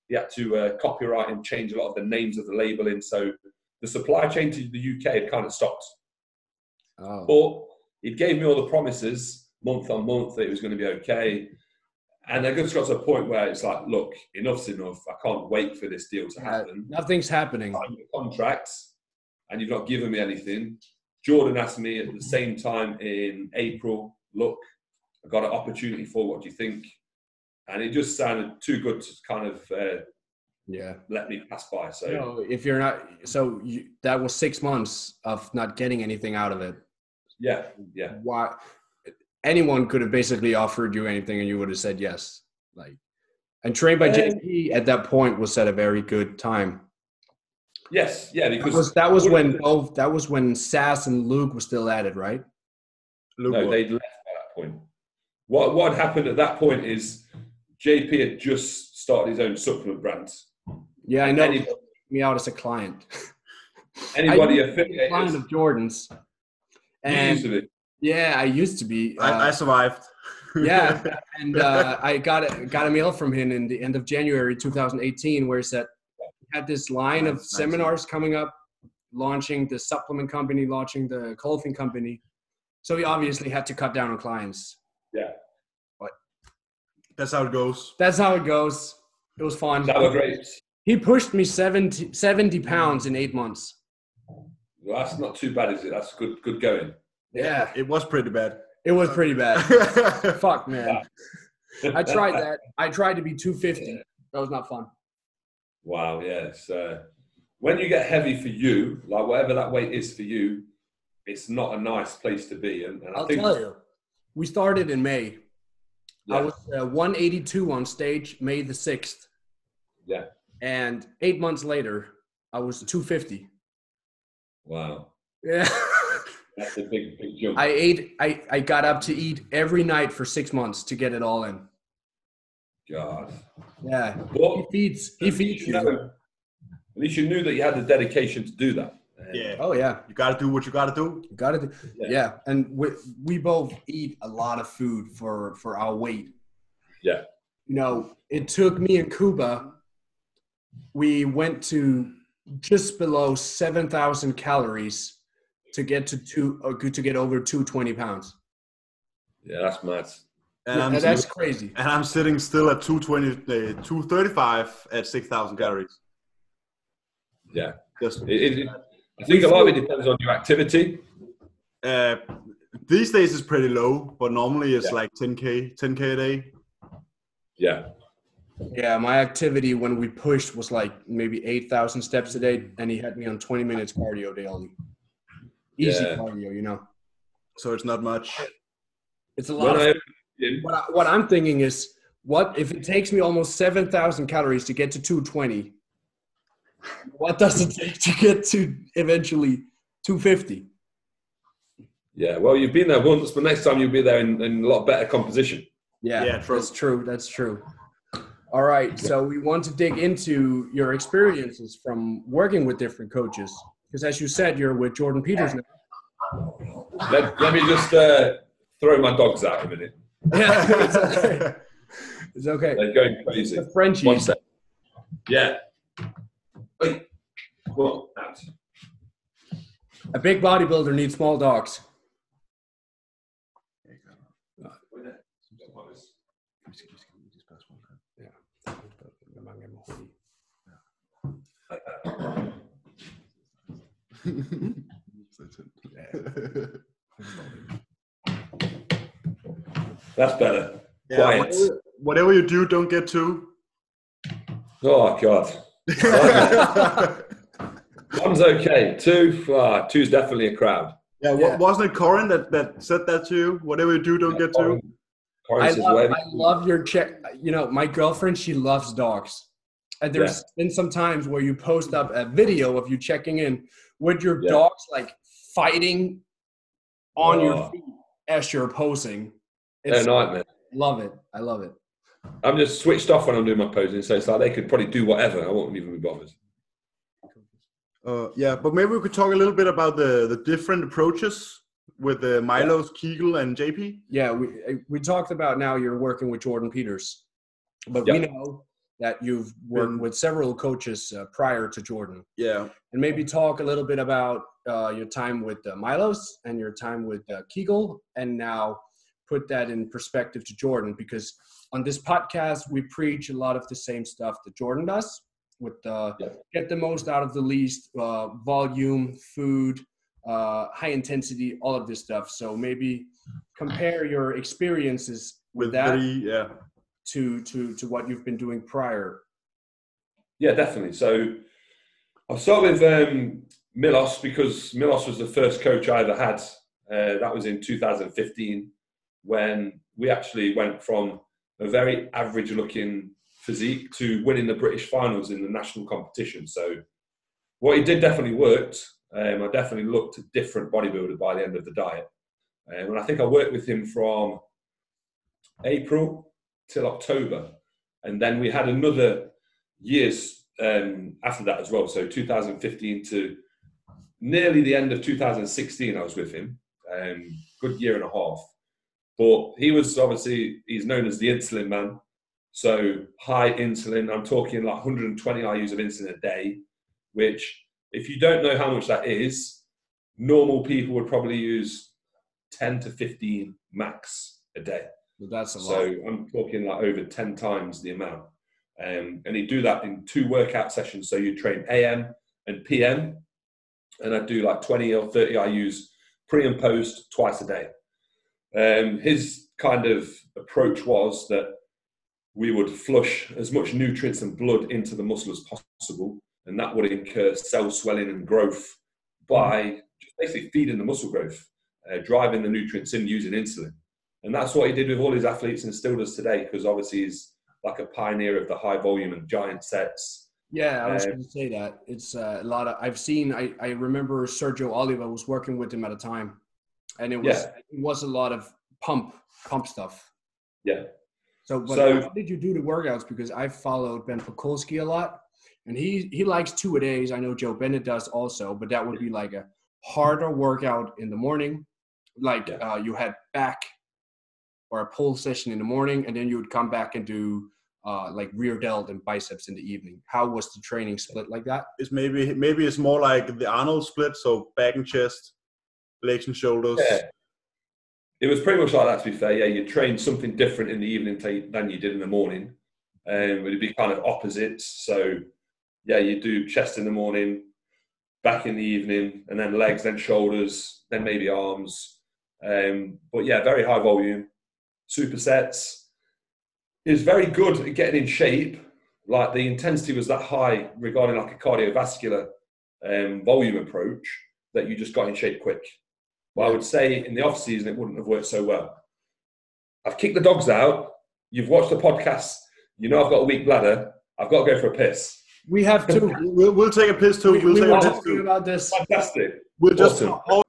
he had to uh, copyright and change a lot of the names of the labeling. So the supply chain to the U K had kind of stopped. Oh. But he gave me all the promises month on month that it was going to be okay. And I just got to a point where it's like, look, enough's enough. I can't wait for this deal to happen. Uh, nothing's happening. I signed the contracts and you've not given me anything. Jordan asked me at the same time in April, look, I got an opportunity for, what do you think? And it just sounded too good to kind of uh, yeah let me pass by. So you know, if you're not, so you, that was six months of not getting anything out of it. yeah, yeah. Why? Anyone could have basically offered you anything and you would have said yes. Like, and Trained by J P at that point was at a very good time. Yes, yeah, because That was, that was when both, that was when Sass and Luke were still at it, right? Luke, no, they'd left by that point. What what happened at that point is J P had just started his own supplement brand. Yeah, I know. Anybody, Me out as a client. anybody I used to be a client affiliated. of Jordan's. You And used to be. yeah, I used to be. Uh, I, I survived. yeah, and uh, I got a, got a mail from him in the end of January two thousand eighteen where he said he had this line of Nice, nice. seminars coming up, launching the supplement company, launching the clothing company. So he obviously had to cut down on clients. Yeah. That's how it goes. That's how it goes. It was fun. Sour grapes. He pushed me seventy, seventy pounds in eight months. Well, that's not too bad, is it? That's good good going. Yeah, It was pretty bad. it was pretty bad. Fuck, man. I tried that. I tried to be two fifty. That was not fun. Wow, yes. Uh, when you get heavy for you, like whatever that weight is for you, it's not a nice place to be. And, and I I'll think, tell you. We started in May. Yeah. I was uh, one eighty-two on stage, May the sixth. Yeah. And eight months later, I was two fifty. Wow, Yeah. that's a big, big jump. I ate, I, I got up to eat every night for six months to get it all in. God. Yeah. He But feeds, he at least feeds you you. know- at least you knew that you had the dedication to do that. Yeah. Oh, yeah. You gotta do what you gotta do. You got it. Yeah. Yeah. And we, we both eat a lot of food for, for our weight. Yeah. You know, it took me and Kuba, we went to just below seven thousand calories to get to two, or to get over two hundred twenty pounds. Yeah, that's mad. And, Yeah, I'm, that's crazy. and I'm sitting still at two twenty, uh, two thirty-five at six thousand calories. Yeah. Just, It, it, I think a lot of it depends on your activity. uh, these days it's pretty low, but normally it's Yeah. like ten K, ten K a day. Yeah. Yeah, my activity when we pushed was like maybe eight thousand steps a day, and he had me on twenty minutes cardio daily. Easy Yeah. cardio, you know. So it's not much. It's a lot. When Of, I, what, I, what I'm thinking is, what if it takes me almost seven thousand calories to get to two twenty? What does it take to get to eventually two fifty? yeah, well, you've been there once, but next time you'll be there in, in a lot better composition. Yeah, Yeah, true. that's true. That's true. All right, so we want to dig into your experiences from working with different coaches, because as you said, you're with Jordan Peters now. Let, let me just uh, throw my dogs out a minute. Yeah, it's okay. It's okay. They're going crazy. The Frenchies. One sec. Yeah. Wait. Well, out. A big bodybuilder needs small dogs. That's better. Yeah, Quiet. whatever, whatever you do, don't get too. Oh, God. One's okay. Two, ah, two's definitely a crowd. Yeah, Yeah. wa- wasn't it Corin that, that said that to you? Whatever you do, don't get too. Corin- Corin I says, love, whatever- I love your check. You know, my girlfriend, she loves dogs. And there's been some times where you post up a video of you checking in with your Yeah. dogs, like fighting on your Oh. feet as you're posing. They're It's, a nightmare. love it. I love it. I'm just switched off when I'm doing my posing, so it's like they could probably do whatever. I won't even be bothered. Uh, yeah, but maybe we could talk a little bit about the, the different approaches with the Milos, Kegel, and J P. Yeah, we we talked about now you're working with Jordan Peters, but Yeah. we know that you've worked Been- with several coaches uh, prior to Jordan, Yeah. and maybe talk a little bit about uh, your time with uh, Milos and your time with uh, Kegel, and now put that in perspective to Jordan, because on this podcast, we preach a lot of the same stuff that Jordan does with uh, Yeah. get the most out of the least, uh, volume, food, uh, high intensity, all of this stuff. So maybe compare your experiences with, With that three, yeah. to, to, to what you've been doing prior. Yeah, definitely. So I'll start with um, Milos, because Milos was the first coach I ever had. Uh, that was in two thousand fifteen, when we actually went from a very average-looking physique to winning the British finals in the national competition. So what he did definitely worked. Um, I definitely looked a different bodybuilder by the end of the diet. Um, and I think I worked with him from April till October. And then we had another years um, after that as well. So two thousand fifteen to nearly the end of two thousand sixteen, I was with him. Um, good year and a half. But he was obviously, he's known as the insulin man. So high insulin, I'm talking like one hundred twenty I U's of insulin a day, which if you don't know how much that is, normal people would probably use ten to fifteen max a day. But that's a So lot. I'm talking like over ten times the amount. Um, and he'd do that in two workout sessions. So you train A M and P M. And I'd do like twenty or thirty I U's pre and post twice a day. Um, his kind of approach was that we would flush as much nutrients and blood into the muscle as possible. And that would incur cell swelling and growth by just basically feeding the muscle growth, uh, driving the nutrients in using insulin. And that's what he did with all his athletes and still does today, because obviously he's like a pioneer of the high volume and giant sets. Yeah, I was Um, going to say that. It's uh, a lot of, I've seen, I, I remember Sergio Oliva was working with him at a time, and it was, Yeah. it was a lot of pump, pump stuff. Yeah. So, but So- how did you do the workouts? Because I followed Ben Pakulski a lot, and he, he likes two a days. I know Joe Bennett does also, but that would be like a harder workout in the morning. Like Yeah. uh, you had back or a pull session in the morning, and then you would come back and do uh, like rear delt and biceps in the evening. How was the training split like that? It's maybe maybe it's more like the Arnold split, so back and chest, legs and shoulders. Yeah. It was pretty much like that, to be fair. Yeah, you trained something different in the evening than you did in the morning. Um, it'd be kind of opposites. So, yeah, you do chest in the morning, back in the evening, and then legs, then shoulders, then maybe arms. Um, but yeah, very high volume, supersets. He was very good at getting in shape. Like the intensity was that high regarding like a cardiovascular um, volume approach that you just got in shape quick. But I would say in the off season, it wouldn't have worked so well. I've kicked the dogs out. You've watched the podcast. You know I've got a weak bladder. I've got to go for a piss. We have two. We'll, we'll take a piss too. we We'll we take were a piss talking too. about this. Fantastic. We'll just Awesome.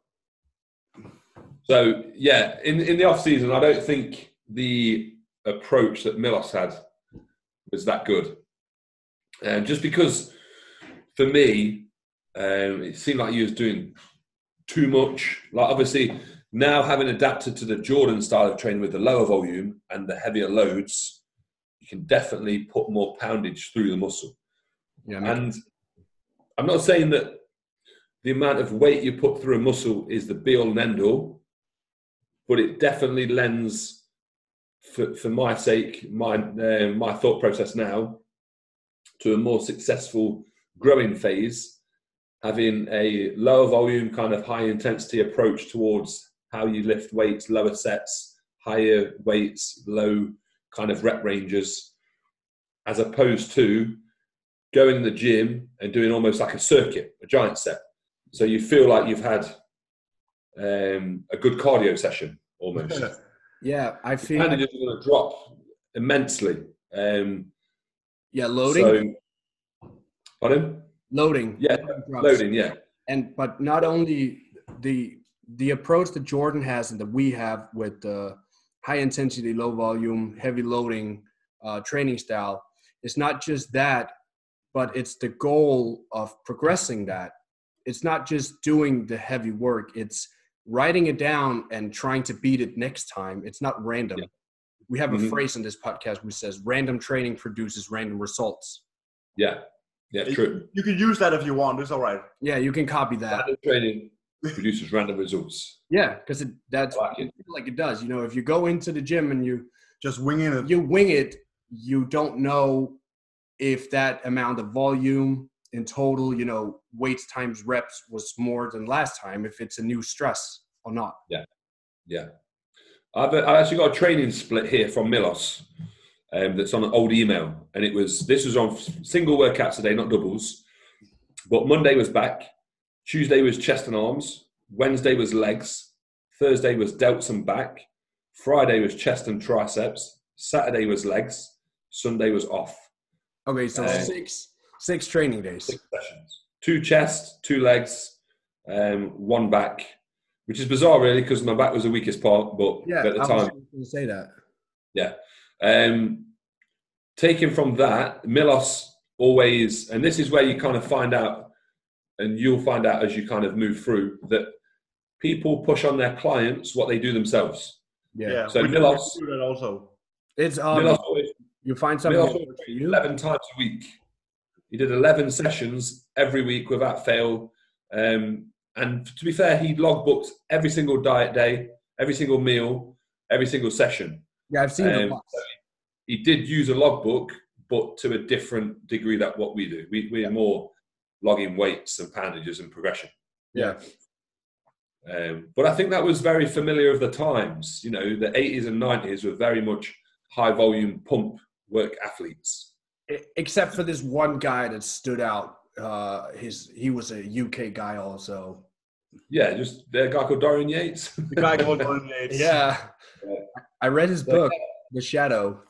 So yeah, in in the off season, I don't think the approach that Milos had was that good. Um, just because for me, um, it seemed like he was doing too much. Like obviously now having adapted to the Jordan style of training with the lower volume and the heavier loads, you can definitely put more poundage through the muscle. Yeah, And I'm not saying that the amount of weight you put through a muscle is the be all and end all, but it definitely lends, for, for my sake, my, uh, my thought process now, to a more successful growing phase, having a lower volume, kind of high intensity approach towards how you lift weights, lower sets, higher weights, low kind of rep ranges, as opposed to going to the gym and doing almost like a circuit, a giant set. So you feel like you've had um, a good cardio session almost. yeah, I feel. And it's going to drop immensely. Um, Yeah, loading. So, pardon? Loading. Yeah, drops. loading. Yeah, And but not only the the approach that Jordan has and that we have with the high intensity, low volume, heavy loading uh, training style, it's not just that, but it's the goal of progressing that. It's not just doing the heavy work. It's writing it down and trying to beat it next time. It's not random. Yeah. we have a Mhm. phrase in this podcast which says random training produces random results. Yeah, yeah, true. You can use that if you want. It's all right. Yeah, you can copy that. Random training produces random results. Yeah, because it, that's I like it. like it does. You know, if you go into the gym and you Just winging it. you wing it, you don't know if that amount of volume in total, you know, weights times reps was more than last time, if it's a new stress or not. Yeah. I've, I've actually got a training split here from Milos um, that's on an old email. And it was, this was on single workouts today, not doubles. But Monday was back. Tuesday was chest and arms. Wednesday was legs. Thursday was delts and back. Friday was chest and triceps. Saturday was legs. Sunday was off. Okay, so Uh, six six training days. Six sessions. Two chest, two legs, um, one back, which is bizarre really because my back was the weakest part, but Yeah, at the I time, was going to say that. yeah. Um, taken from that, Milos always, and this is where you kind of find out, and you'll find out as you kind of move through, that people push on their clients what they do themselves. Yeah, Yeah. So we, Milos- we do that also. it's um, Milos always, you find something Milos that always works for trained you. eleven times a week. He did eleven sessions every week without fail. Um, and to be fair, he logbooked every single diet day, every single meal, every single session. Yeah, I've seen the Um, lots. He did use a logbook, but to a different degree than what we do. We, we're more logging weights and poundages and progression. Yeah, Um, but I think that was very familiar of the times. You know, the eighties and nineties were very much high volume pump work athletes. E- except for this one guy that stood out. Uh, his he was a U K guy also. Yeah, just a guy called Dorian Yates. The guy called Dorian Yates. Yeah, Yeah. I read his book, The Shadow.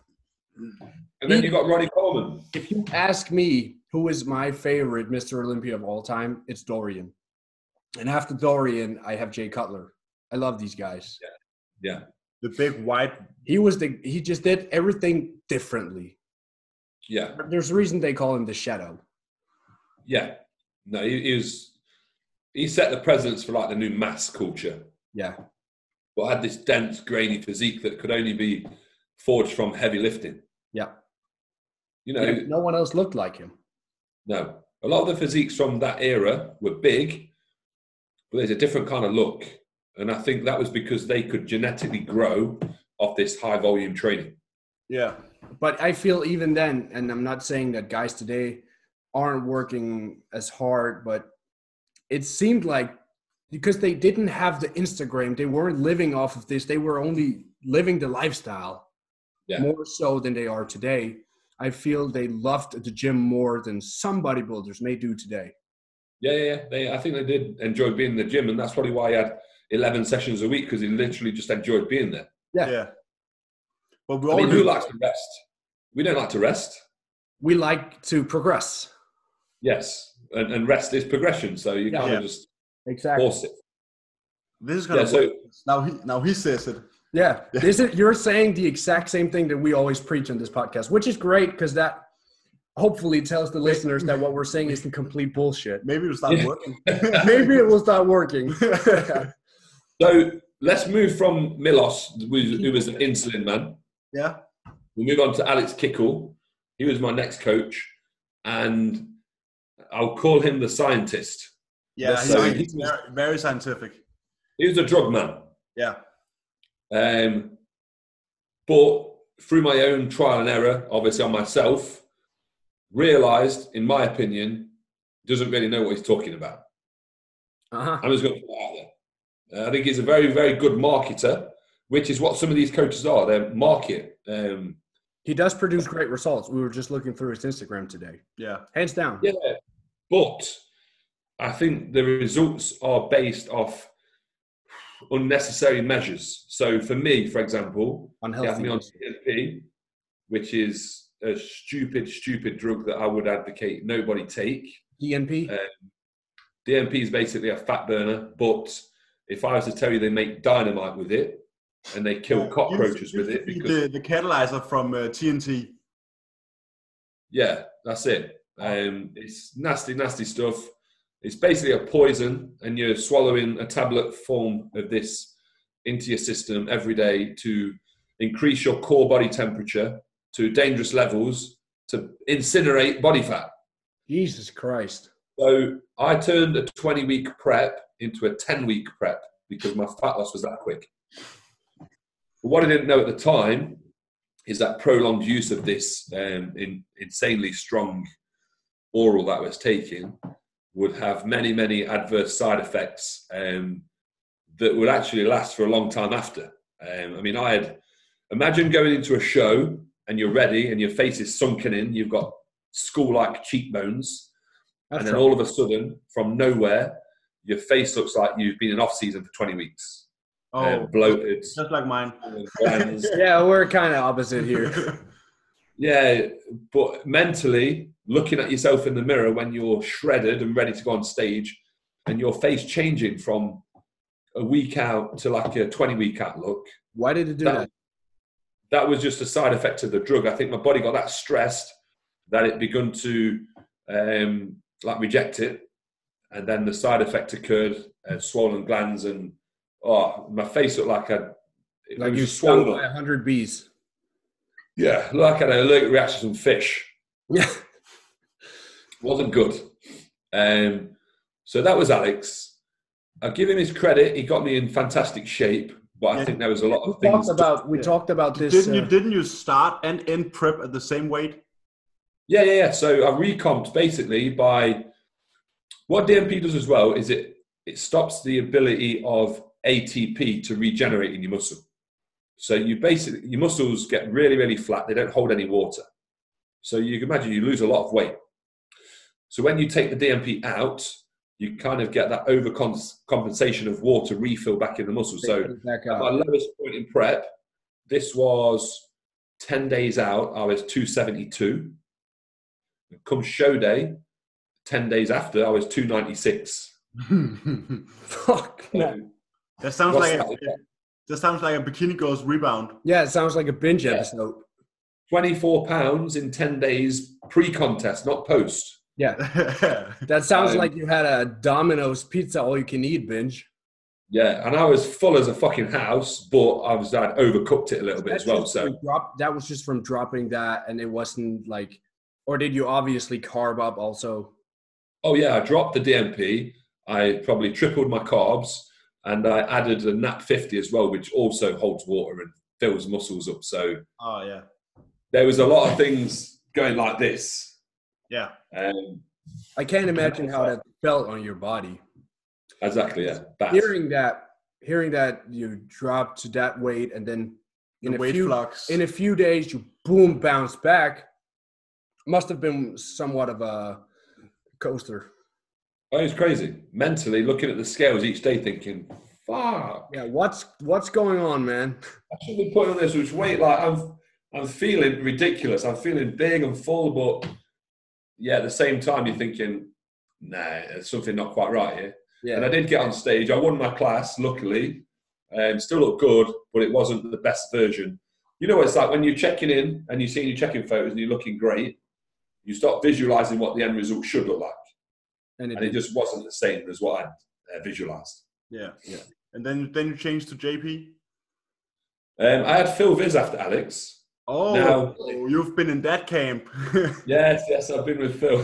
And then you got Ronnie Coleman. If you ask me who is my favorite Mister Olympia of all time, it's Dorian. And after Dorian, I have Jay Cutler. I love these guys. Yeah, The big white. He was the he just did everything differently. yeah, There's a reason they call him the Shadow. yeah. No, he, he was. He set the precedence for like the new mass culture, Yeah. but had this dense, grainy physique that could only be forged from heavy lifting. Yeah. You know, Yeah, no one else looked like him. no. A lot of the physiques from that era were big, but there's a different kind of look. And I think that was because they could genetically grow off this high volume training. Yeah. But I feel even then, and I'm not saying that guys today aren't working as hard, but it seemed like because they didn't have the Instagram, they weren't living off of this. They were only living the lifestyle Yeah. more so than they are today. I feel they loved the gym more than some bodybuilders may do today. Yeah, yeah, yeah. They, I think they did enjoy being in the gym, and that's probably why he had eleven sessions a week because he literally just enjoyed being there. Yeah. Yeah. But we I all mean, do. who likes to rest? We don't like to rest. We like to progress. Yes, and, and rest is progression, so you Yeah. kind of Yeah. just Exactly. force it. This is kind Yeah, of so now he now he says it. Yeah, this is, you're saying the exact same thing that we always preach on this podcast, which is great because that hopefully tells the listeners that what we're saying isn't complete bullshit. Maybe it'll start Yeah. working. Maybe it will start working. so let's move from Milos, who who was an insulin man. Yeah. We'll move on to Alex Kickle. He was my next coach, and I'll call him the scientist. Yeah. So he's, he he's was- very, very scientific. He was a drug man. Yeah. Um, but through my own trial and error, obviously on myself, realised, in my opinion, doesn't really know what he's talking about. Uh-huh. I'm just going to put it out there. Uh, I think he's a very, very good marketer, which is what some of these coaches are. They're market. Um, He does produce great results. We were just looking through his Instagram today. Yeah. Hands down. yeah, but I think the results are based off unnecessary measures. So for me, for example, he had Unhealthy. me on T N P, which is a stupid, stupid drug that I would advocate nobody take. D N P? Uh, D N P is basically a fat burner, but if I was to tell you they make dynamite with it and they kill Yeah. cockroaches Used- with used it, to be because the, the catalyzer from uh, T N T. yeah, that's it. Um, it's nasty, nasty stuff. It's basically a poison, and you're swallowing a tablet form of this into your system every day to increase your core body temperature to dangerous levels to incinerate body fat. Jesus Christ. So I turned a twenty-week prep into a ten-week prep because my fat loss was that quick. But what I didn't know at the time is that prolonged use of this um, in, insanely strong oral that I was taking would have many, many adverse side effects um, that would actually last for a long time after. Um, I mean, I had, imagine going into a show and you're ready and your face is sunken in, you've got skull-like cheekbones, That's and then right. all of a sudden, from nowhere, your face looks like you've been in off-season for twenty weeks. Oh, um, bloated. Just like mine. Yeah, we're kind of opposite here. Yeah, but mentally, looking at yourself in the mirror when you're shredded and ready to go on stage, and your face changing from a week out to like a twenty-week out look. Why did it do that? That, that was just a side effect of the drug. I think my body got that stressed that it begun to um, like reject it, and then the side effect occurred, uh, swollen glands, and oh, my face looked like a like you stung by a hundred bees. Yeah, like I had an allergic reaction to some fish. Yeah, wasn't good. Um, so that was Alex. I'll give him his credit. He got me in fantastic shape, but yeah. I think there was a lot we of things. Talked about, we yeah. talked about this. Didn't uh, you? Didn't you start and end prep at the same weight? Yeah, yeah, yeah. So I recomped basically by what D M P does as well is it it stops the ability of A T P to regenerate in your muscle. So you basically your muscles get really, really flat. They don't hold any water. So you can imagine you lose a lot of weight. So when you take the D M P out, you kind of get that overcompensation of water refill back in the muscle. So at my lowest point in prep, this was ten days out, I was two seventy-two. Come show day, ten days after, I was two ninety-six. Fuck. Um, that sounds like a, that sounds like a Bikini Girls rebound. Yeah, it sounds like a binge yeah. episode. twenty-four pounds in ten days pre-contest, not post. Yeah. That sounds um, like you had a Domino's pizza all-you-can-eat binge. Yeah, and I was full as a fucking house, but I was I'd overcooked it a little bit That's as well. So drop, that was just from dropping that, and it wasn't like, or did you obviously carb up also? Oh yeah, I dropped the D M P. I probably tripled my carbs, and I added a N A P fifty as well, which also holds water and fills muscles up. So oh yeah, there was a lot of things going like this. Yeah. Um, I can't imagine how that felt on your body. Exactly, yeah. Bad. Hearing that, hearing that you dropped to that weight, and then in the a weight few flux. in a few days you boom bounce back. Must have been somewhat of a coaster. Oh, it's crazy. Mentally looking at the scales each day, thinking, "Fuck." Yeah, what's what's going on, man? I should be putting on this much weight. Like I'm, I'm feeling ridiculous. I'm feeling big and full, but yeah, at the same time, you're thinking, "Nah, there's something not quite right here." Yeah. And I did get on stage. I won my class, luckily. Um, still looked good, but it wasn't the best version. You know what it's like when you're checking in and you're seeing your checking photos and you're looking great, you start visualizing what the end result should look like. And it, and it just wasn't the same as what I'd uh, visualized. Yeah, yeah. And then, then you changed to J P? Um, I had Phil Viz after Alex. Oh, now, you've been in that camp. Yes, yes, I've been with Phil.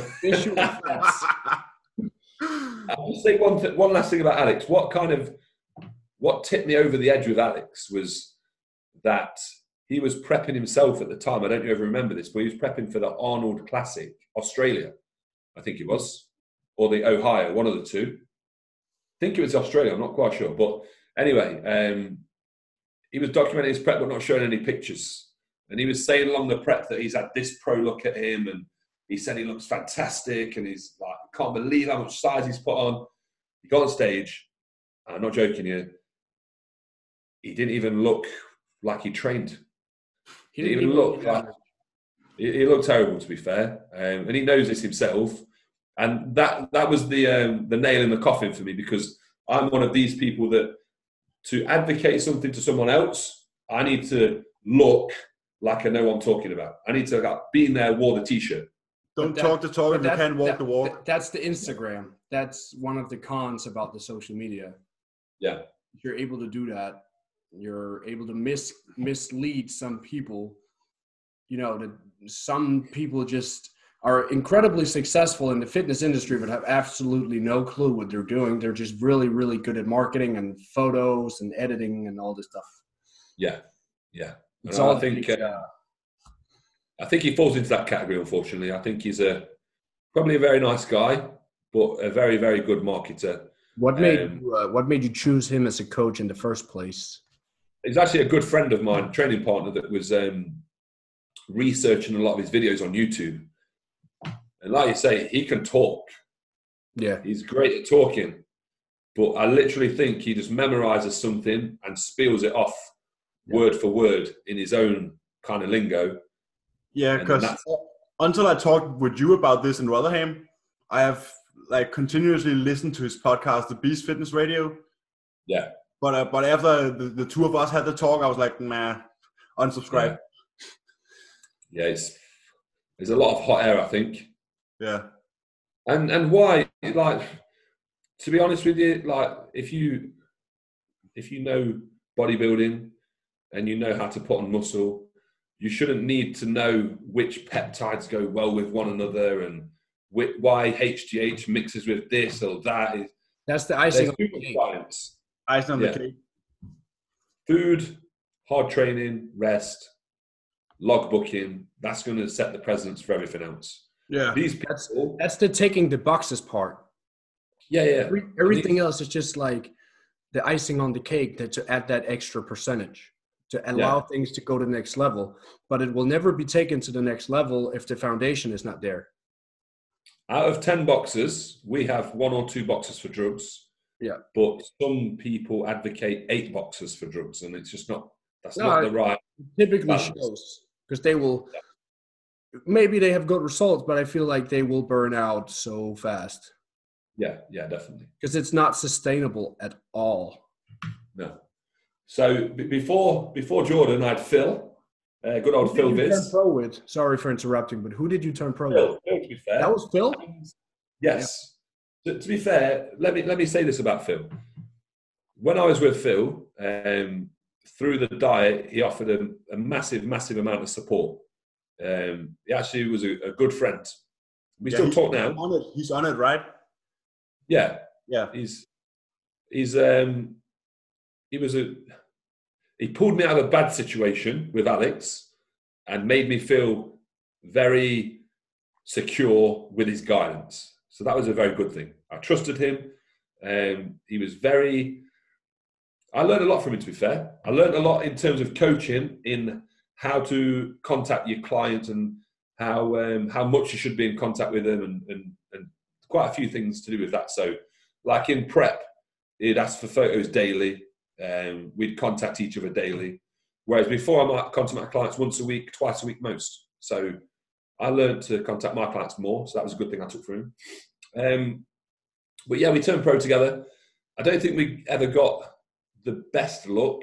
I'll just say one th- one last thing about Alex. What kind of what tipped me over the edge with Alex was that he was prepping himself at the time. I don't know if you remember this, but he was prepping for the Arnold Classic, Australia, I think it was, or the Ohio, one of the two. I think it was Australia. I'm not quite sure, but anyway, um, he was documenting his prep, but not showing any pictures. And he was saying along the prep that he's had this pro look at him, and he said he looks fantastic, and he's like, I can't believe how much size he's put on. He got on stage, and I'm not joking here, he didn't even look like he trained. He didn't even look like, he, he looked terrible, to be fair. Um, and he knows this himself. And that that was the um, the nail in the coffin for me, because I'm one of these people that to advocate something to someone else, I need to look like I know what I'm talking about. I need to like, be in there, wore the t-shirt. Don't that, talk the talk if you can't walk that, the walk. That's the Instagram. That's one of the cons about the social media. Yeah. If you're able to do that, you're able to mis mislead some people. You know, that some people just are incredibly successful in the fitness industry, but have absolutely no clue what they're doing. They're just really, really good at marketing and photos and editing and all this stuff. Yeah, yeah. It's And all I think big, uh, I think he falls into that category. Unfortunately, I think he's a probably a very nice guy, but a very, very good marketer. What made Um, you, uh, what made you choose him as a coach in the first place? He's actually a good friend of mine, training partner, that was um, researching a lot of his videos on YouTube. And like you say, he can talk. Yeah. He's great at talking. But I literally think he just memorizes something and spills it off Yeah. word for word in his own kind of lingo. Yeah, And then because that's- until I talked with you about this in Rotherham, I have like continuously listened to his podcast, The Beast Fitness Radio. Yeah. But uh, but after the, the two of us had the talk, I was like, nah, unsubscribe. Yeah, yeah it's there's a lot of hot air, I think. Yeah. And and why? Like, to be honest with you, like if you if you know bodybuilding and you know how to put on muscle, you shouldn't need to know which peptides go well with one another and wh- why H G H mixes with this or that. That's the icing There's on too the much cake. science. Icing on Yeah. the cake. Food, hard training, rest, log booking, that's going to set the precedence for everything else. Yeah. These That's people, that's the ticking the boxes part. yeah, yeah. Every, everything else is just like the icing on the cake that to add that extra percentage to allow Yeah. things to go to the next level. But it will never be taken to the next level if the foundation is not there. Out of ten boxes, we have one or two boxes for drugs. Yeah. But some people advocate eight boxes for drugs, and it's just not, that's No, not I- the right. Typically Balance. shows because they will. Maybe they have good results, but I feel like they will burn out so fast Yeah, yeah, definitely. because it's not sustainable at all. No. So b- before before Jordan, I had Phil, uh, good old Who Phil did you turn Viz. pro with? Sorry for interrupting, but who did you turn pro Phil, with? Phil, to be fair. That was Phil? Yes. To, to be fair, let me let me say this about Phil. When I was with Phil, um, through the diet, he offered a, a massive, massive amount of support. Um, he actually was a, a good friend. We Yeah, still he's talk now. On it. He's on it, right? Yeah, Yeah. he's he's um, he was a he pulled me out of a bad situation with Alex and made me feel very secure with his guidance. So that was a very good thing. I trusted him. Um, he was very. I learned a lot from him, to be fair. I learned a lot in terms of coaching, in how to contact your clients and how um, how much you should be in contact with them, and, and and quite a few things to do with that. So, like in prep, he'd ask for photos daily. Um, we'd contact each other daily. Whereas before, I might contact my clients once a week, twice a week most. So I learned to contact my clients more. So that was a good thing I took from him. Um, but yeah, we turned pro together. I don't think we ever got the best look.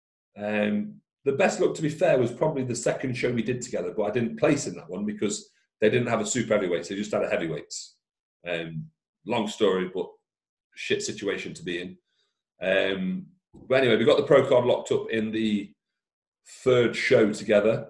Um, the best look, to be fair, was probably the second show we did together, but I didn't place in that one because they didn't have a super heavyweights. They just had a heavyweights. Um, long story, but shit situation to be in. Um, but anyway, we got the pro card locked up in the third show together.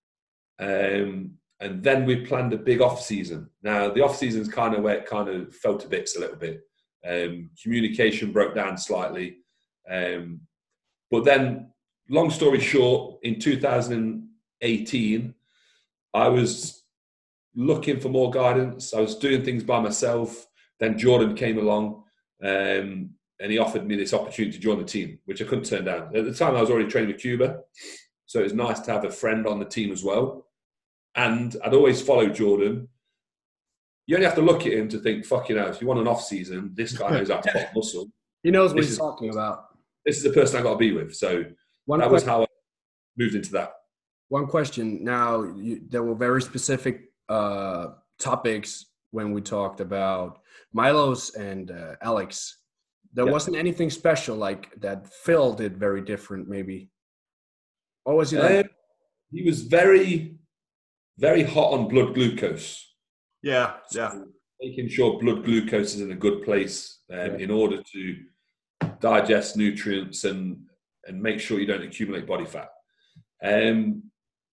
Um, and then we planned a big off season. Now, the off season is kind of where it kind of fell to bits a little bit. Um, communication broke down slightly. Um, but then, long story short, in two thousand eighteen, I was looking for more guidance. I was doing things by myself. Then Jordan came along um, and he offered me this opportunity to join the team, which I couldn't turn down. At the time, I was already training with Cuba. So it was nice to have a friend on the team as well. And I'd always followed Jordan. You only have to look at him to think, fuck, you know, if you want an off season, this guy knows how to put muscle. He knows what This he's is- talking about. This is the person I got to be with. So One that was question. how I moved into that. One question. Now, you, there were very specific uh, topics when we talked about Milos and uh, Alex. There Yeah. wasn't anything special like that Phil did very different, maybe. What was he like? Um, he was very, very hot on blood glucose. Yeah. So Yeah. making sure blood glucose is in a good place um, Yeah. in order to digest nutrients and and make sure you don't accumulate body fat. Um,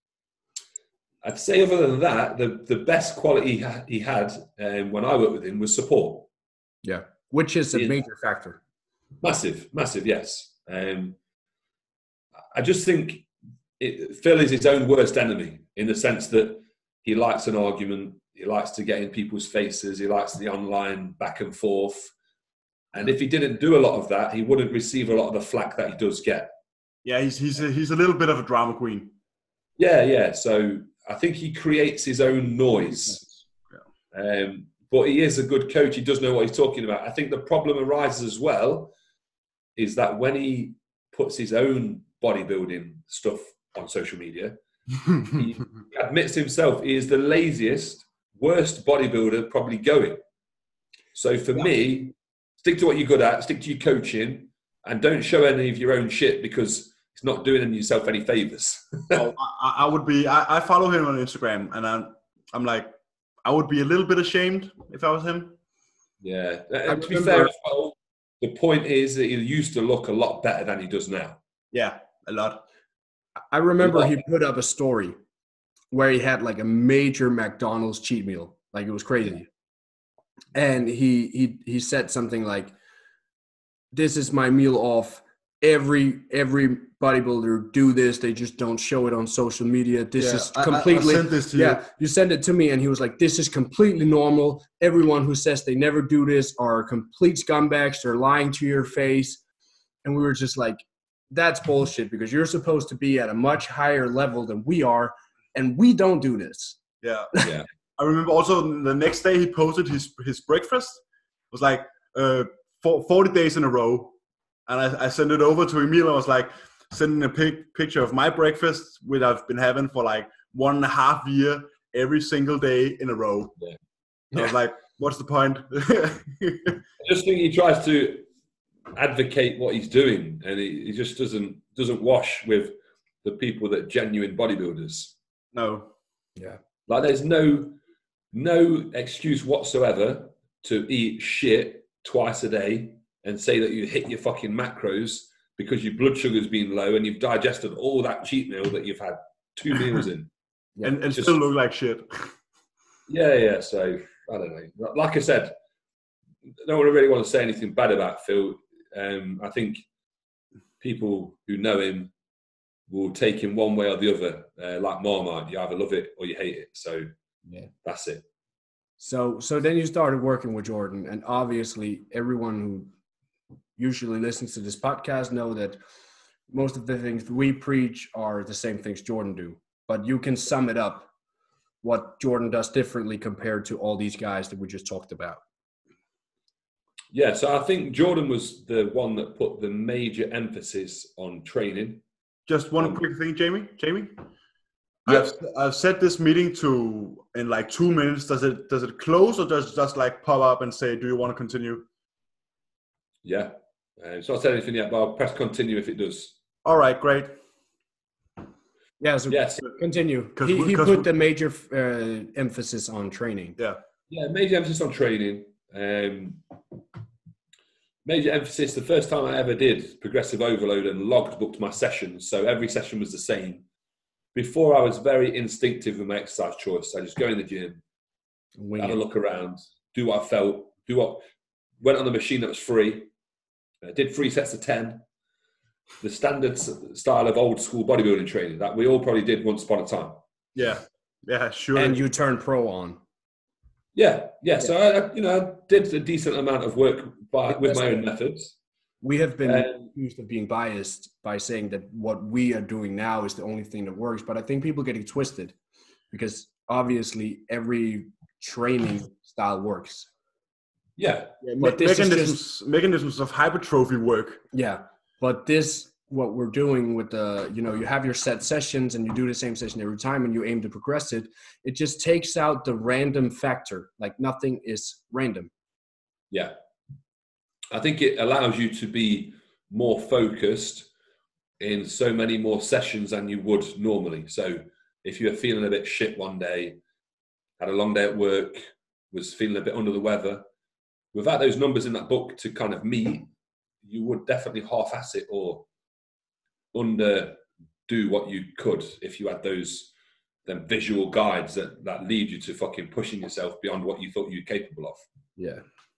I'd say other than that, the, the best quality he, ha- he had um, when I worked with him was support. Yeah, which is a He- major factor. Massive, massive, yes. Um, I just think it, Phil is his own worst enemy in the sense that he likes an argument, he likes to get in people's faces, he likes the online back and forth. And if he didn't do a lot of that, he wouldn't receive a lot of the flack that he does get. Yeah, he's he's a, he's a little bit of a drama queen. Yeah, yeah. So I think he creates his own noise. Yeah. Um, but he is a good coach. He does know what he's talking about. I think the problem arises as well is that when he puts his own bodybuilding stuff on social media, he admits himself he is the laziest, worst bodybuilder probably going. So for Yeah. me, stick to what you're good at, stick to your coaching, and don't show any of your own shit because it's not doing yourself any favors. Oh, I, I would be. I, I follow him on Instagram, and I'm I'm like, I would be a little bit ashamed if I was him. Yeah. I And to be remember- fair as well, the point is that he used to look a lot better than he does now. Yeah, a lot. I remember he put up a story where he had like a major McDonald's cheat meal. Like it was crazy. And he he he said something like, "This is my meal off. Every every bodybuilder do this. They just don't show it on social media. This Yeah, is I- I- I completely sent this to yeah. you. You sent it to me, and he was like, "This is completely normal. Everyone who says they never do this are complete scumbags. They're lying to your face." And we were just like, "That's bullshit because you're supposed to be at a much higher level than we are, and we don't do this." Yeah. Yeah. I remember also the next day he posted his his breakfast. It was like uh, for, forty days in a row. And I, I sent it over to Emil. I was like, sending a pic, picture of my breakfast, which I've been having for like one and a half year, every single day in a row. Yeah. And I was like, what's the point? I just think he tries to advocate what he's doing, and he, he just doesn't doesn't wash with the people that are genuine bodybuilders. No. Yeah. Like there's no no excuse whatsoever to eat shit twice a day and say that you hit your fucking macros because your blood sugar's been low and you've digested all that cheat meal that you've had two meals in. Yeah. And, and Just- still look like shit. Yeah, yeah. So I don't know. Like I said, I don't really want to say anything bad about Phil. Um, I think people who know him will take him one way or the other. Uh, like Marmite, you either love it or you hate it. So Yeah. that's it. So so then you started working with Jordan, and obviously everyone who usually listens to this podcast know that most of the things we preach are the same things Jordan do. But you can sum it up what Jordan does differently compared to all these guys that we just talked about. Yeah, so I think Jordan was the one that put the major emphasis on training. Just one Um, quick thing, Jamie. Jamie, Yeah. I've I've set this meeting to in like two minutes. Does it does it close or does it just like pop up and say, "Do you want to continue?" Yeah. Uh, it's not said anything yet, but I'll press continue if it does. All right, great. Yeah, so Yes. continue. 'Cause He, we- he 'cause put we- the major uh, emphasis on training. Yeah. Yeah, major emphasis on training. Um, major emphasis, the first time I ever did progressive overload and logged booked my sessions, so every session was the same. Before I was very instinctive with my exercise choice. I just go in the gym, Wing have a it. look around, do what I felt, do what, went on the machine that was free, uh, did three sets of ten. The standard s- style of old school bodybuilding training that we all probably did once upon a time. Yeah. Yeah. Sure. And you turned pro on. Yeah, yeah. So I, I- you know, I did a decent amount of work by, with my own methods. We have been Um, accused of being biased by saying that what we are doing now is the only thing that works, but I think people get it twisted because obviously every training style works. Yeah, Yeah, but me- this is mechanisms mechanisms of hypertrophy work. Yeah, but this what we're doing with the you know you have your set sessions and you do the same session every time and you aim to progress it. It just takes out the random factor. Like nothing is random. yeah. I think it allows you to be more focused in so many more sessions than you would normally. So if you're feeling a bit shit one day, had a long day at work, was feeling a bit under the weather, without those numbers in that book to kind of meet, you would definitely half-ass it or under do what you could if you had those them visual guides that, that lead you to fucking pushing yourself beyond what you thought you were capable of. Yeah.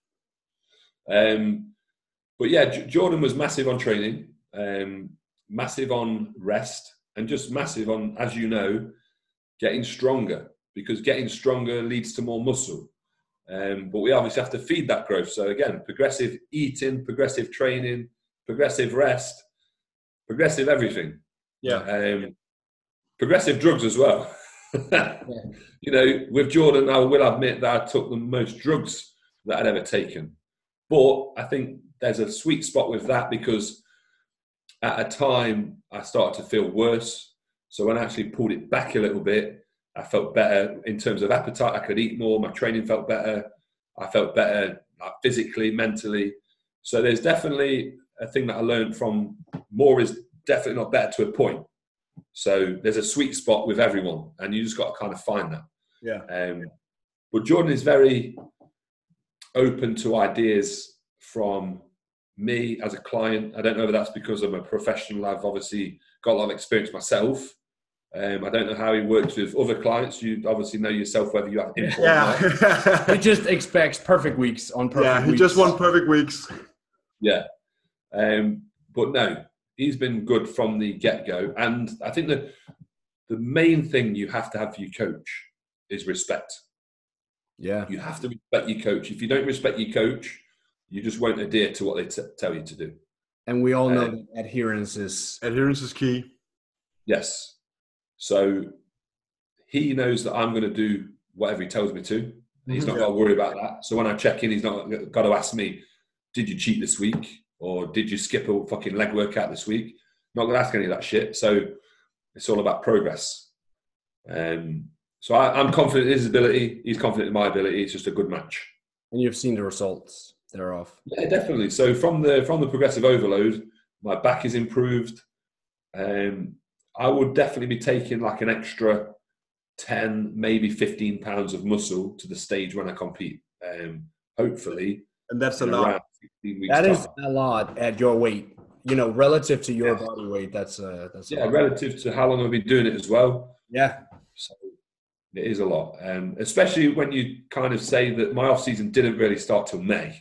Um, but yeah, J- Jordan was massive on training, um, massive on rest, and just massive on, as you know, getting stronger, because getting stronger leads to more muscle. Um, but we obviously have to feed that growth. So again, progressive eating, progressive training, progressive rest, progressive everything. Yeah. Um, progressive drugs as well. Yeah. You know, with Jordan, I will admit that I took the most drugs that I'd ever taken. But I think there's a sweet spot with that, because at a time I started to feel worse. So when I actually pulled it back a little bit, I felt better in terms of appetite. I could eat more. My training felt better. I felt better like, physically, mentally. So there's definitely a thing that I learned from more is definitely not better to a point. So there's a sweet spot with everyone, and you just got to kind of find that. Yeah. Um, but Jordan is very open to ideas from me as a client. I don't know if that's because I'm a professional. I've obviously got a lot of experience myself. Um, I don't know how he works with other clients. You obviously know yourself whether you have input or not. Yeah. He just expects perfect weeks on perfect Yeah, he weeks. just won perfect weeks. Yeah. Um, but no, he's been good from the get-go. And I think that the main thing you have to have for your coach is respect. Yeah. You have to respect your coach. If you don't respect your coach, you just won't adhere to what they t- tell you to do. And we all know Um, that adherence is... Adherence is key. Yes. So he knows that I'm going to do whatever he tells me to. He's not Yeah. got to worry about that. So when I check in, he's not got to ask me, did you cheat this week? Or did you skip a fucking leg workout this week? Not going to ask any of that shit. So it's all about progress. Um, so I, I'm confident in his ability. He's confident in my ability. It's just a good match. And you've seen the results thereof. Yeah, definitely. So from the from the progressive overload, my back is improved. Um, I would definitely be taking like an extra ten, maybe fifteen pounds of muscle to the stage when I compete. Um, hopefully, And that's a in lot. around sixteen weeks That is time. a lot at your weight. You know, relative to your Yeah. body weight, that's uh that's a Yeah, lot. relative to how long I've been doing it as well. Yeah. So it is a lot, um, especially when you kind of say that my off season didn't really start till May.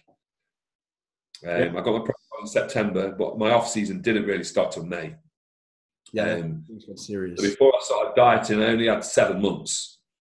Um, Yeah. I got my pro in September, but my off season didn't really start till May. Yeah. Um, Things get serious. So before I started dieting, I only had seven months.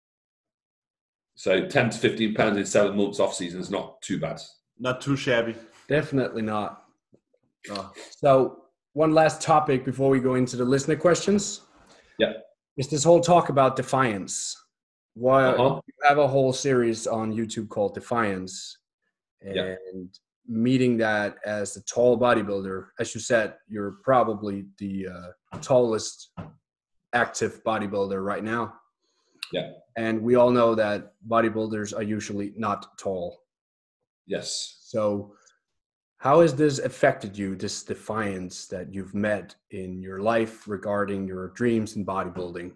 So ten to fifteen pounds in seven months off season is not too bad. Not too shabby. Definitely not. Oh. So one last topic before we go into the listener questions. Yeah. Is this whole talk about defiance. Why Uh-huh. you have a whole series on YouTube called Defiance. And Yeah. meeting that as a tall bodybuilder, as you said, you're probably the uh, tallest active bodybuilder right now. Yeah. And we all know that bodybuilders are usually not tall. Yes. So how has this affected you, this defiance that you've met in your life regarding your dreams in bodybuilding?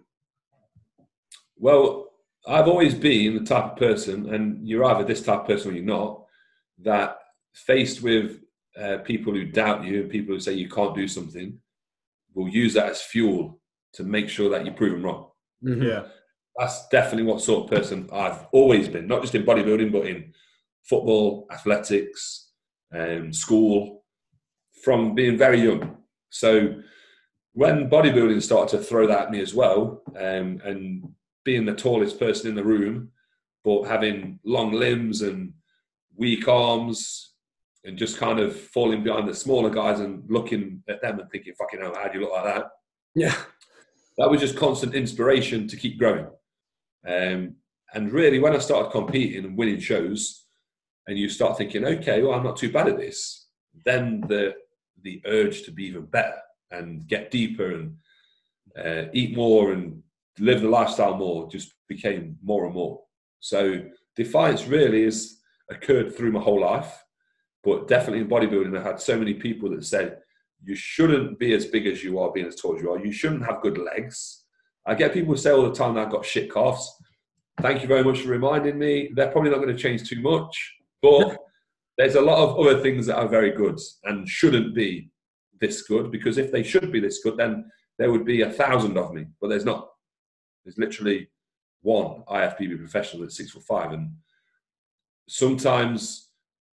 Well, I've always been the type of person, and you're either this type of person or you're not, that faced with uh, people who doubt you and people who say you can't do something, will use that as fuel to make sure that you prove them wrong. Mm-hmm. Yeah. That's definitely what sort of person I've always been, not just in bodybuilding, but in football, athletics, um, school, from being very young. So when bodybuilding started to throw that at me as well, um, and being the tallest person in the room, but having long limbs and weak arms and just kind of falling behind the smaller guys and looking at them and thinking, fucking hell, how do you look like that? Yeah. That was just constant inspiration to keep growing. Um, and really, when I started competing and winning shows, and you start thinking, okay, well, I'm not too bad at this, then the the urge to be even better and get deeper and uh, eat more and live the lifestyle more just became more and more. So defiance really has occurred through my whole life, but definitely in bodybuilding, I had so many people that said, you shouldn't be as big as you are, being as tall as you are. You shouldn't have good legs. I get people say all the time that I've got shit calves. Thank you very much for reminding me. They're probably not going to change too much, but there's a lot of other things that are very good and shouldn't be this good, because if they should be this good, then there would be a thousand of me, but there's not. There's literally one I F B B professional that's six foot five, and sometimes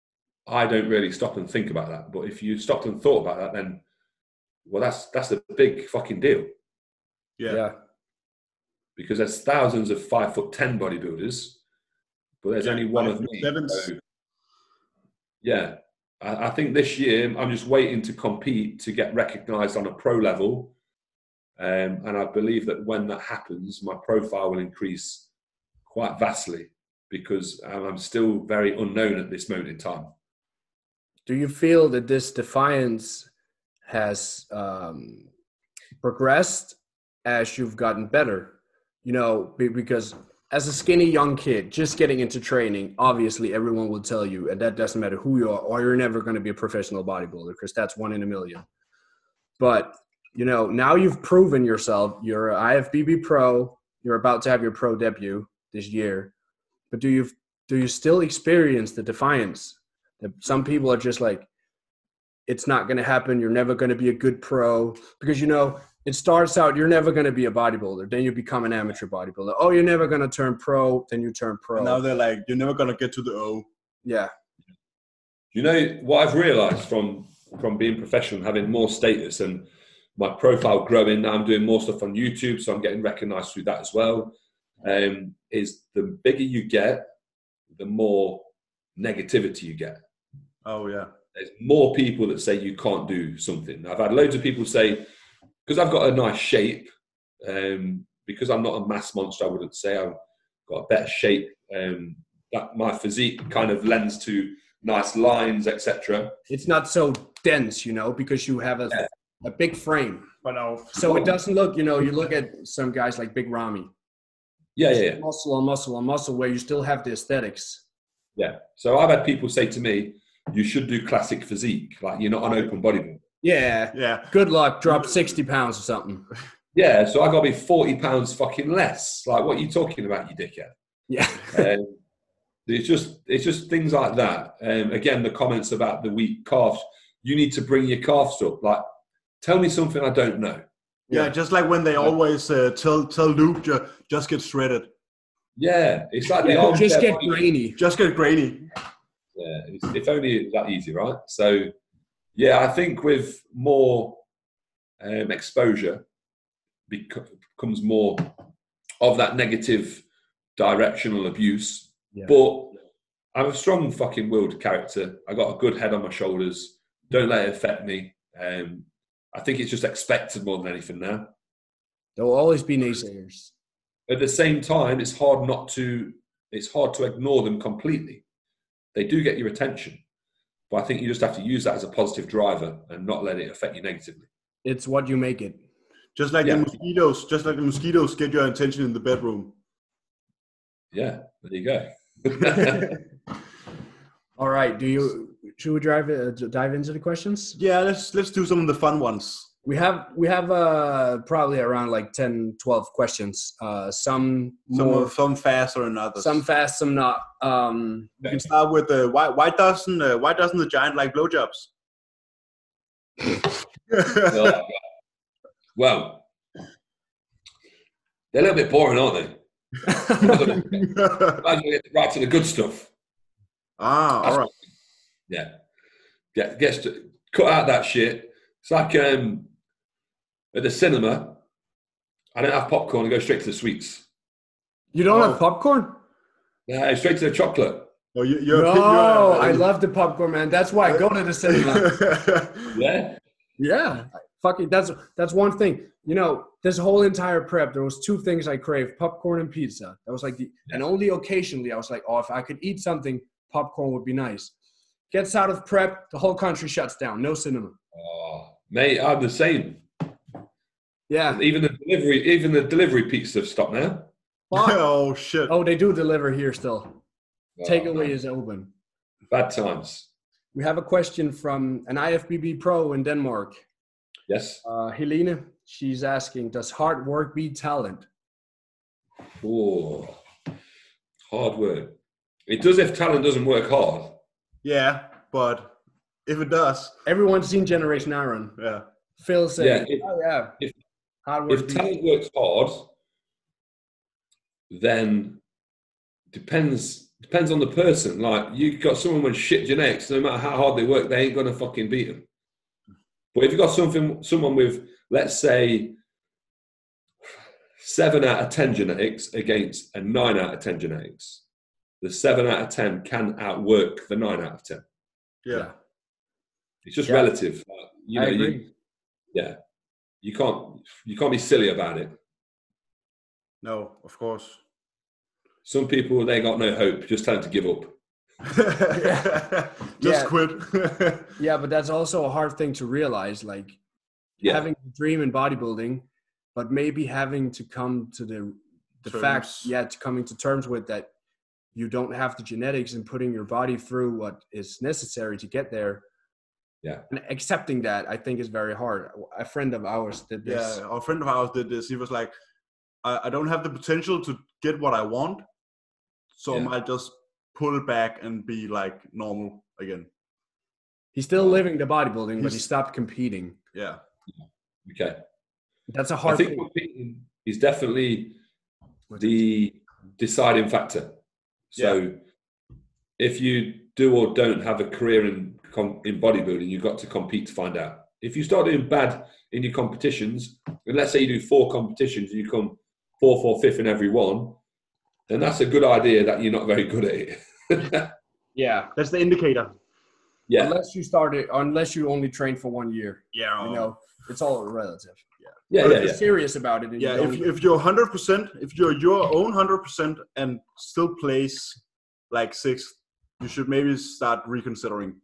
I don't really stop and think about that. But if you stopped and thought about that, then well, that's that's a big fucking deal. Yeah. yeah. Because there's thousands of five foot ten bodybuilders, but there's Yeah, only one five of foot me. sevens. So, yeah, I, I think this year I'm just waiting to compete to get recognised on a pro level, um, and I believe that when that happens, my profile will increase quite vastly because I'm still very unknown at this moment in time. Do you feel that this defiance has um, progressed as you've gotten better? You know, because as a skinny young kid, just getting into training, obviously everyone will tell you, and that doesn't matter who you are, or you're never going to be a professional bodybuilder because that's one in a million. But, you know, now you've proven yourself. You're an I F B B pro. You're about to have your pro debut this year. But do you do you still experience the defiance? That some people are just like, it's not going to happen. You're never going to be a good pro because, you know, it starts out, you're never going to be a bodybuilder. Then you become an amateur bodybuilder. Oh, you're never going to turn pro. Then you turn pro. And now they're like, you're never going to get to the O. Yeah. You know, what I've realised from, from being professional and having more status and my profile growing, now I'm doing more stuff on YouTube, so I'm getting recognised through that as well, um, is the bigger you get, the more negativity you get. Oh, yeah. There's more people that say you can't do something. I've had loads of people say, because I've got a nice shape, um, because I'm not a mass monster, I wouldn't say I've got a better shape. Um, that my physique kind of lends to nice lines, et cetera. It's not so dense, you know, because you have a, Yeah. a big frame. But now, So it doesn't look, you know, you look at some guys like Big Ramy. Yeah, yeah, yeah. Muscle on muscle on muscle where you still have the aesthetics. Yeah. So I've had people say to me, you should do classic physique, like you're not an open bodybuilder. Yeah. yeah. Good luck. Drop sixty pounds or something. Yeah, so I got to be forty pounds fucking less. Like, what are you talking about, you dickhead? Yeah. um, it's just it's just things like that. Um, again, the comments about the weak calves. You need to bring your calves up. Like, tell me something I don't know. Yeah, Yeah. just like when they always uh, tell tell Luke, ju- just get shredded. Yeah, it's like the Yeah, armchair just get body- grainy. Just get grainy. Yeah, it's, if only that easy, right? So, yeah, I think with more um, exposure bec- becomes more of that negative directional abuse. Yeah. But I'm a strong fucking willed character. I got a good head on my shoulders. Don't let it affect me. Um, I think it's just expected more than anything now. There will always be naysayers. At the same time, it's hard not to. It's hard to ignore them completely. They do get your attention, but I think you just have to use that as a positive driver and not let it affect you negatively. It's what you make it. Just like Yeah. the mosquitoes, just like the mosquitoes get your attention in the bedroom. Yeah, there you go. All right. Do you should we drive uh, dive into the questions? Yeah, let's let's do some of the fun ones. We have we have uh probably around like ten, twelve questions. Uh some Some more of- some faster than others. some fast, some not. Um We can start with uh, why why doesn't uh, why doesn't the giant like blowjobs? Oh, well, they're a little bit boring, aren't they? Might as well get right to the good stuff. ah, all right. Yeah, yeah. Gets to cut out that shit. It's like um, at the cinema. I don't have popcorn. I go straight to the sweets. You don't Oh. have popcorn? Yeah, straight to the chocolate. Oh, you, you're No, a pig, you're, I love the popcorn, man. That's why I go to the cinema. Yeah, Yeah, fucking that's that's one thing. You know, this whole entire prep, there was two things I craved: popcorn and pizza. That was like the, and only occasionally I was like, oh, if I could eat something, popcorn would be nice. Gets out of prep, the whole country shuts down. No cinema. oh, mate, I'm the same. Yeah. Even the delivery, even the delivery pizzas have stopped now. Fuck. oh shit. Oh, they do deliver here still. Oh, Takeaway man. is open. Bad times. We have a question from an I F B B pro in Denmark. Yes. Uh, Helene, she's asking, does hard work beat talent? Oh, hard work. It does if talent doesn't work hard. Yeah, but if it does. Everyone's seen Generation Iron. Yeah. Phil said, Yeah, if- "Oh yeah, if- hard work." If talent works hard, then depends depends on the person. Like you got someone with shit genetics, no matter how hard they work, they ain't gonna fucking beat them. But if you got something, someone with, let's say, seven out of ten genetics against a nine out of ten genetics, the seven out of ten can outwork the nine out of ten. Yeah. Yeah. It's just Yeah. relative. Like, you know, I you, agree. yeah, you can't you can't be silly about it. No, of course. Some people, they got no hope. Just tell them to give up. Just Yeah. quit. Yeah, but that's also a hard thing to realize. Like Yeah, having a dream in bodybuilding, but maybe having to come to the the Terms. fact, yeah, to coming to terms with that you don't have the genetics and putting your body through what is necessary to get there. Yeah. And accepting that, I think, is very hard. A friend of ours did this. Yeah, our friend of ours did this. He was like, I, I don't have the potential to get what I want, so I Yeah. might just pull back and be like normal again. He's still living the bodybuilding, but he He's- stopped competing. Yeah. okay. That's a I hard think thing. competing is definitely the deciding factor. So if you do or don't have a career in com- in bodybuilding, you've got to compete to find out. If you start doing bad in your competitions, and let's say you do four competitions and you come fourth or fifth in every one, then that's a good idea that you're not very good at it. Yeah. That's the indicator. yeah, Unless you started, unless you only train for one year, Yeah. you know, it's all relative. yeah, But yeah, if you're yeah. serious about it, and Yeah, you if, don't, if you're one hundred percent, if you're your own one hundred percent and still place like sixth, you should maybe start reconsidering.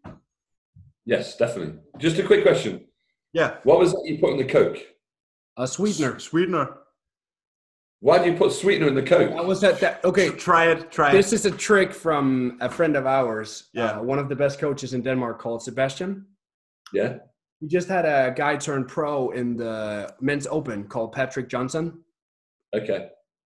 Yes, definitely. Just a quick question. Yeah. What was that you put in the Coke? a sweetener. S- Sweetener. Why do you put sweetener in the Coke? That was that. that okay, Try it. Try this it. is a trick from a friend of ours. Yeah. Uh, one of the best coaches in Denmark called Sebastian. Yeah. He just had a guy turn pro in the men's open called Patrick Johnson. Okay.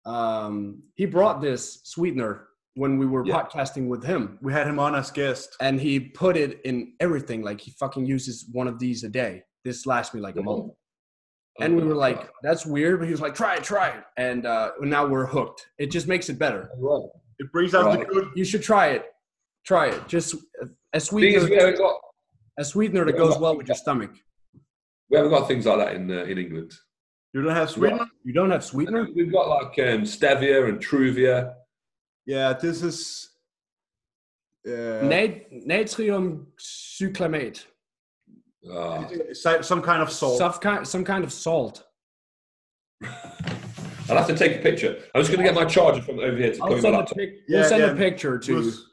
Um, he brought this sweetener when we were Yeah. podcasting with him, We had him on as guest. and he put it in everything. Like he fucking uses one of these a day. This lasts me like a month. And we were like, that's weird. But he was like, try it, try it. And uh, now we're hooked. It just makes it better. Right. It brings out Right. the good. You should try it. Try it. Just a, a Thing is, sweetener, we haven't got a sweetener that goes well with your stomach. we haven't got things like that in uh, in England. You don't have sweetener? You don't have sweetener? We've got like um, stevia and truvia. Yeah, this is. Uh, Nat- natrium cyclamate. Ah. si- some kind of salt. Some kind, some kind of salt. I'll have to take a picture. I'm just going to get my charger from over here to I'll plug my send, a, laptop. pic- Yeah, we'll send yeah. a picture to you. Was-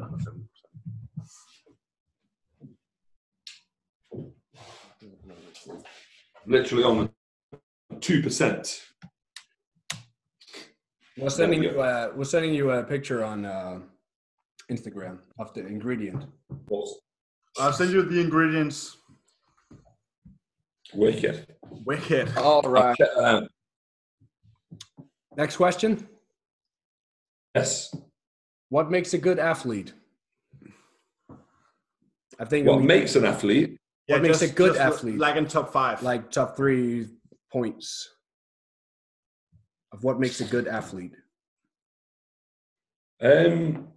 Literally on two percent. We're sending There you. A, we're sending you a picture on uh, Instagram of the ingredient. I'll send you the ingredients. Wicked. Wicked. All I'll check that out. Next question. Yes. What makes a good athlete? I think What we- makes an athlete? What makes a good athlete? Like in top five. like top three points of what makes a good athlete. Um,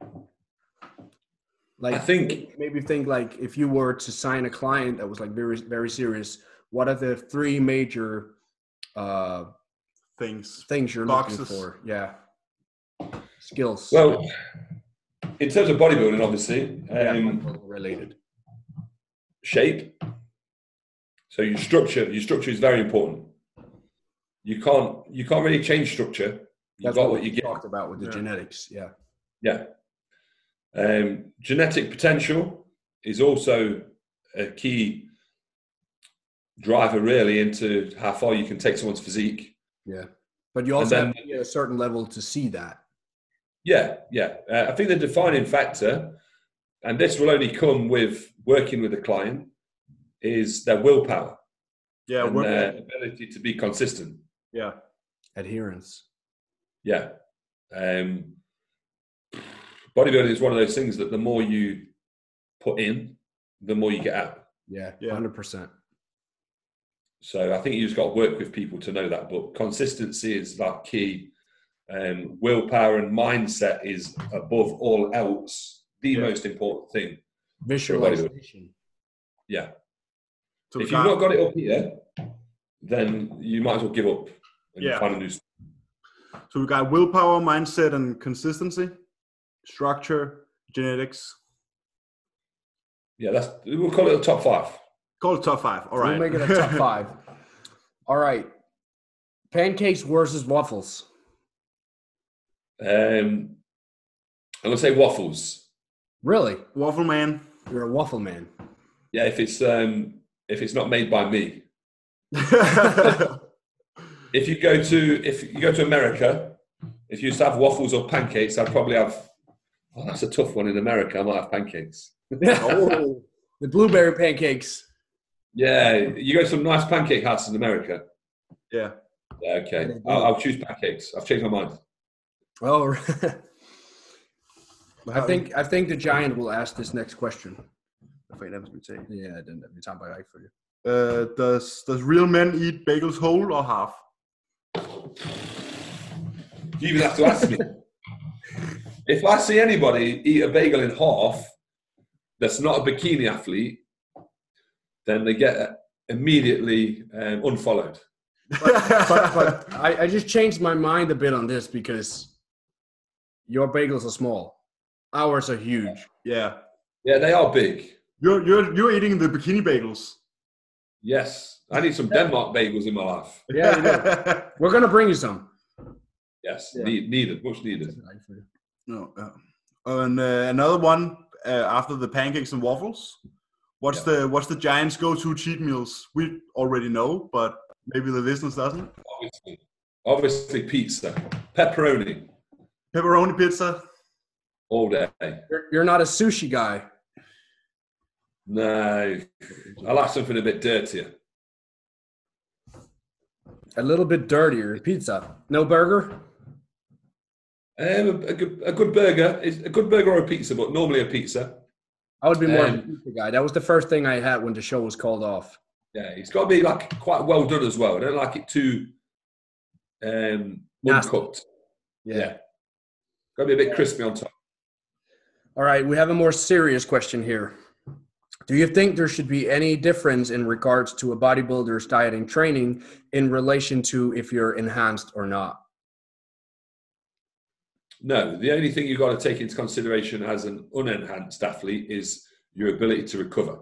Like I think- maybe think like if you were to sign a client that was like very very serious, what are the three major uh, things. things you're Boxes. looking for? Yeah, skills. well, in terms of bodybuilding, obviously, yeah, um, related. shape. So your structure, your structure is very important. You can't, you can't really change structure. You That's got what what we you get. talked about with the Yeah. genetics. Yeah. Yeah. Um, genetic potential is also a key driver, really, into how far you can take someone's physique. Yeah. But you also then- have to be at a certain level to see that. Yeah, yeah. Uh, I think the defining factor, and this will only come with working with a client, is their willpower Yeah, and work- their ability to be consistent. yeah. Adherence. Yeah. Um, bodybuilding is one of those things that the more you put in, the more you get out. Yeah, Yeah. one hundred percent. So I think you just got to work with people to know that. But consistency is like key. Um, willpower and mindset is above all else the Yeah. most important thing. Visualization. Yeah. So If we you've got- not got it up here, then you might as well give up and Yeah. find a new. So we got willpower, mindset, and consistency, structure, genetics. Yeah, that's we'll call it a top five. Call it top five. All right. We'll make it a top five. All right. Pancakes versus waffles. Um, I'm gonna say waffles. Really? Waffle man. You're a waffle man. Yeah, if it's um, if it's not made by me. If you go to if you go to America, if you used to have waffles or pancakes, I'd probably have. Oh, that's a tough one in America. I might have pancakes. Oh, the blueberry pancakes. Yeah, you go to some nice pancake houses in America. Yeah. Yeah, okay. I'll, I'll choose pancakes. I've changed my mind. Oh, I think I think the giant will ask this next question. Yeah, den vi tager bare ikke for det. Uh, does does real men eat bagels whole or half? You even have to ask me. If I see anybody eat a bagel in half that's not a bikini athlete, then they get immediately um, unfollowed. But, but I, I just changed my mind a bit on this because your bagels are small. Ours are huge. Yeah. Yeah, they are big. You're you're you're eating the bikini bagels. Yes. I need some Denmark bagels in my life. Yeah, you know. We're gonna bring you some. Yes, Yeah. need, needed, much needed. No. Uh, and uh, another one uh, after the pancakes and waffles. What's Yeah. the what's the Giants' go-to cheat meals? We already know, but maybe the listeners doesn't. Obviously, obviously pizza, pepperoni Pepperoni pizza. all day. You're, you're not a sushi guy. No, I like something a bit dirtier. A little bit dirtier. Pizza. No burger? Um, a, a, good, a good burger is a good burger or a pizza, but normally a pizza. I would be more of a Um, pizza guy. That was the first thing I had when the show was called off. Yeah, it's got to be like quite well done as well. I don't like it too um, Nasty. uncooked. Yeah, got to be a bit crispy on top. All right, we have a more serious question here. Do you think there should be any difference in regards to a bodybuilder's diet and training in relation to if you're enhanced or not? No, the only thing you've got to take into consideration as an unenhanced athlete is your ability to recover.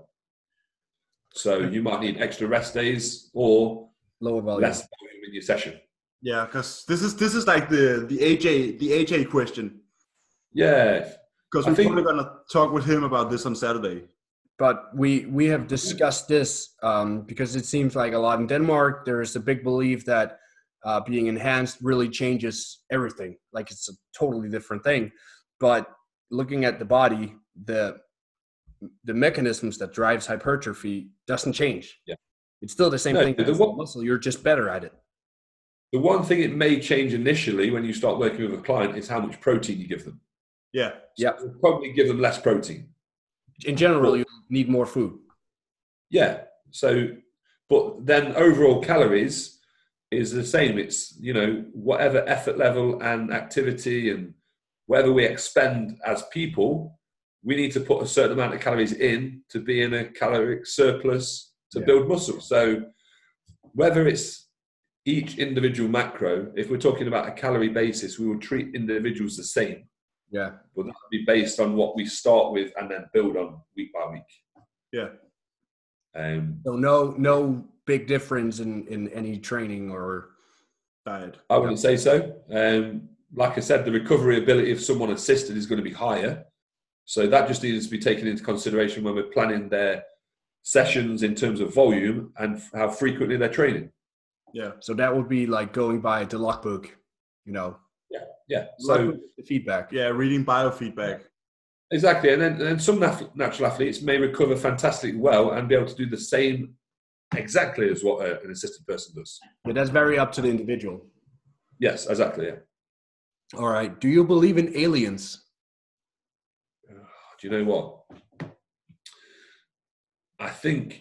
So you might need extra rest days or Lower volume. less volume in your session. Yeah, because this is this is like the the A J the A J question. Yeah, Because I we're think- probably gonna talk with him about this on Saturday. But we we have discussed this um, because it seems like a lot in Denmark, there's a big belief that uh, being enhanced really changes everything. Like it's a totally different thing. But looking at the body, the the mechanisms that drives hypertrophy doesn't change. Yeah. It's still the same No, thing the as one- muscle. You're just better at it. the one thing it may change initially when you start working with a client is how much protein you give them. Yeah. Yeah. You'll probably give them less protein. In general, you need more food. Yeah. So, but then overall calories is the same. It's, you know, whatever effort level and activity and whatever we expend as people, we need to put a certain amount of calories in to be in a caloric surplus to Yeah. build muscle. So whether it's each individual macro, if we're talking about a calorie basis, we will treat individuals the same. Yeah. But that would be based on what we start with and then build on week by week. Yeah. Um, So no no big difference in, in any training or Diet. I wouldn't say so. Um, like I said, the recovery ability of someone assisted is going to be higher. So that just needs to be taken into consideration when we're planning their sessions in terms of volume and how frequently they're training. Yeah. so that would be like going by the logbook, you know. Yeah. So Logbook is the feedback. Yeah. Reading biofeedback. exactly. And then, and then some nat- natural athletes may recover fantastically well and be able to do the same exactly as what a, an assisted person does. But that's very up to the individual. Yes, exactly. Yeah. All right. Do you believe in aliens? Do you know what? I think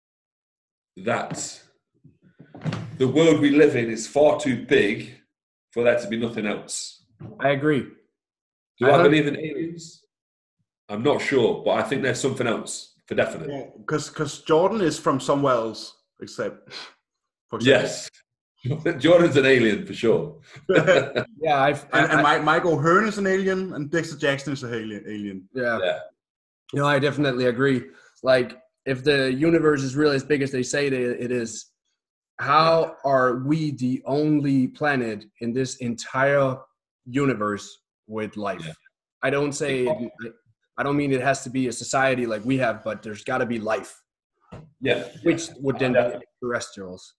that the world we live in is far too big for there to be nothing else. I agree. Do I, I believe in aliens? I'm not sure, but I think there's something else for definite. Because because Jordan is from somewhere else, except for example. Yes. Jordan's an alien for sure. Yeah, I've, and, I, and I, Mike, Mike O'Hearn is an alien, and Dexter Jackson is an alien. alien. yeah. Yeah. You know, I definitely agree. Like, if the universe is really as big as they say it, it is, how are we the only planet in this entire universe with life? Yeah. I don't say, it, I don't mean it has to be a society like we have, but there's got to be life. Yeah. Which would then Yeah. be extraterrestrials.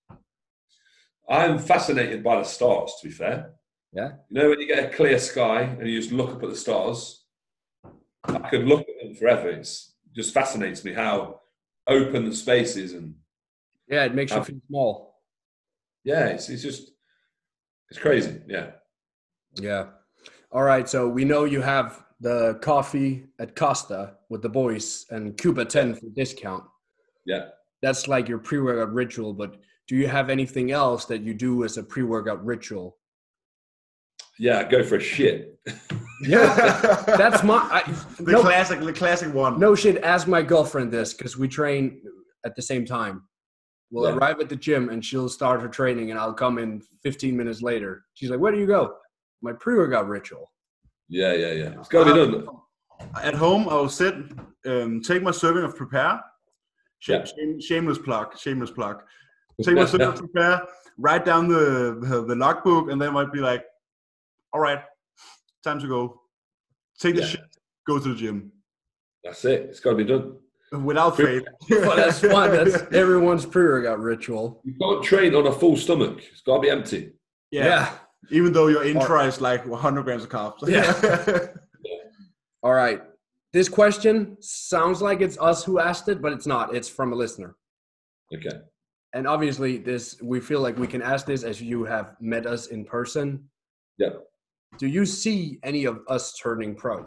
I'm fascinated by the stars, to be fair. Yeah. You know, when you get a clear sky and you just look up at the stars, I could look at them forever. It's, it just fascinates me how open the space is. And Yeah, it makes how, you feel small. yeah, it's, it's just, it's crazy. Yeah. Yeah. All right. So we know you have the coffee at Costa with the boys and Cuba ten for discount. Yeah. That's like your pre-workout ritual, but do you have anything else that you do as a pre-workout ritual? Yeah, go for a shit. Yeah, that's my I, the no, classic, the classic one. no shit. Ask my girlfriend this because we train at the same time. We'll Yeah. arrive at the gym and she'll start her training, and I'll come in fifteen minutes later. She's like, "Where do you go?" My pre-workout ritual. Yeah, yeah, yeah. It's got to be done. At home, I will sit, um, take my serving of Prepare. Shame, Yeah. shame, shameless plug, shameless plug. Take my serving of Prepare, write down the, the the logbook, and then I might be like, all right, time to go. Take the Yeah. shit, go to the gym. That's it. It's got to be done. Without fail. Well, that's fun. That's everyone's pre-workout ritual. You can't train on a full stomach. It's got to be empty. Yeah. Yeah. Even though your intra is like one hundred grams of carbs. Yeah. All right. This question sounds like it's us who asked it, but it's not. It's from a listener. Okay. And obviously, this we feel like we can ask this as you have met us in person. Yeah. Do you see any of us turning pro?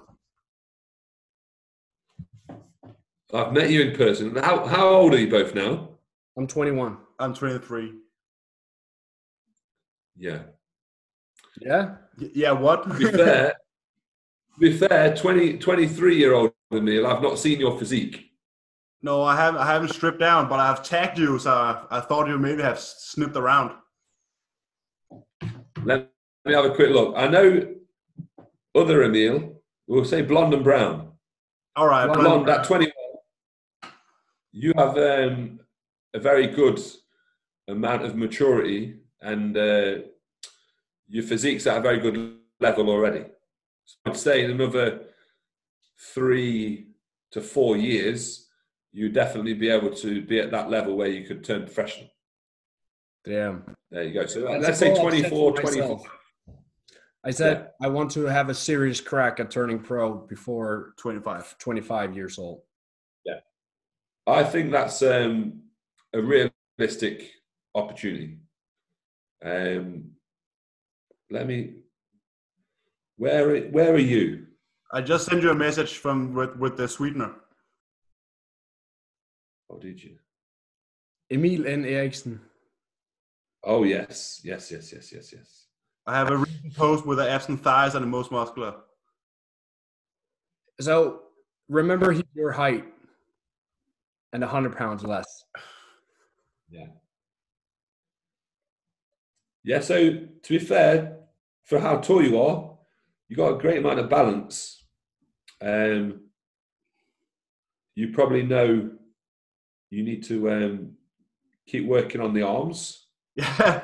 I've met you in person. How how old are you both now? I'm twenty-one. I'm twenty-three. Yeah. Yeah? Y- Yeah, what? To be fair, to be fair, twenty, twenty-three year old Emil, I've not seen your physique. No, I haven't. I haven't stripped down, but I've tagged you, so I, I thought you maybe have snipped around. Let me have a quick look. I know other Emil, we'll say blonde and brown. All right, Blonde, Blonde at twenty-one, you have um, a very good amount of maturity, and uh, your physique's at a very good level already. So I'd say in another three to four years, you'd definitely be able to be at that level where you could turn professional. Damn. There you go. So That's let's a say goal I've set twenty-four, for twenty-five. myself. I said I want to have a serious crack at turning pro before twenty-five. twenty-five years old. I think that's um, a realistic opportunity. Um, let me. Where where are you? I just sent you a message from with, with the sweetener. Oh, did you? Emil N. Eriksen. Oh yes, yes, yes, yes, yes, yes. I have a recent post with the abs and thighs and the most muscular. So remember, he's your height and one hundred pounds less. Yeah. Yeah. So to be fair, for how tall you are, you got a great amount of balance. Um, you probably know you need to um, keep working on the arms. Yeah.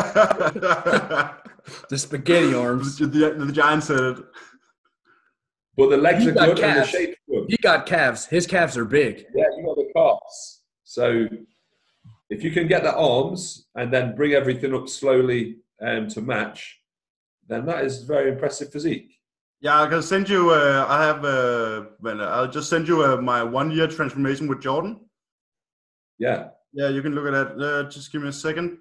The spaghetti arms. the, the, the giant said it. But the legs You are got good and the calves. shape's good. He got calves. His calves are big. Yeah, you got the calves. So if you can get the arms and then bring everything up slowly um, to match, then that is very impressive physique. Yeah, I can send you. Uh, I have. Uh, well, I'll just send you uh, my one-year transformation with Jordan. Yeah. Yeah, you can look at that. Uh, just give me a second.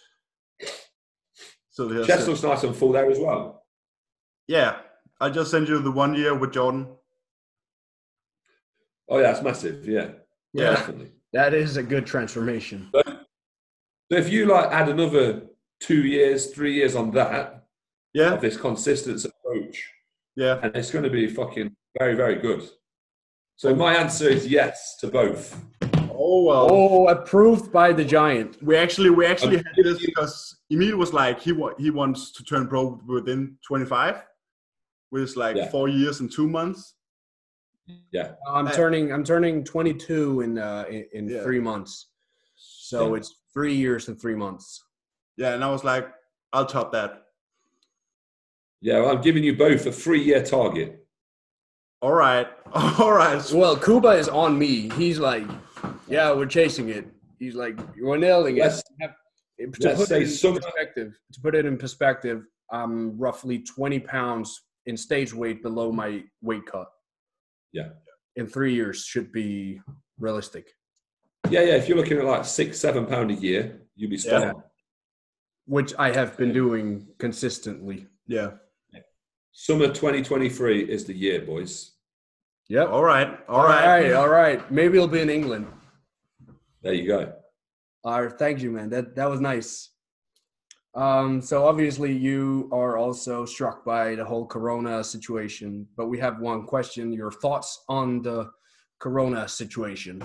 So here's Chest it. looks nice and full there as well. Yeah, I just sent you the one year with Jordan. Oh, yeah, it's massive. Yeah. Yeah, Definitely. that is a good transformation. So, so if you like add another two years, three years on that Yeah, of this consistent approach, yeah. and it's going to be fucking very, very good. So my answer is yes to both. Oh well. Oh, approved by the giant. We actually we actually Um, had this because Emil was like he wa- he wants to turn pro within twenty-five, which is like Yeah. four years and two months. Yeah. I'm Uh, turning. I'm turning twenty-two in uh, in, in Yeah. three months. So Yeah. it's three years and three months. Yeah, and I was like, I'll top that. Yeah, well, I'm giving you both a three-year target. All right, all right. Well, Kuba is on me. He's like, yeah, we're chasing it. He's like, you're nailing it. Let's- To let's put say it in summer- perspective, to put it in perspective, I'm roughly twenty pounds in stage weight below my weight cut. Yeah. In three years should be realistic. Yeah, yeah. If you're looking at like six, seven pound a year, you'll be spot Yeah. on. Which I have been doing consistently. Yeah. Summer twenty twenty-three is the year, boys. Yep. All right, all All right. right, all right. Maybe it'll be in England. There you go. All right, thank you, man. That that was nice. Um, so obviously you are also struck by the whole Corona situation, but we have one question: your thoughts on the Corona situation?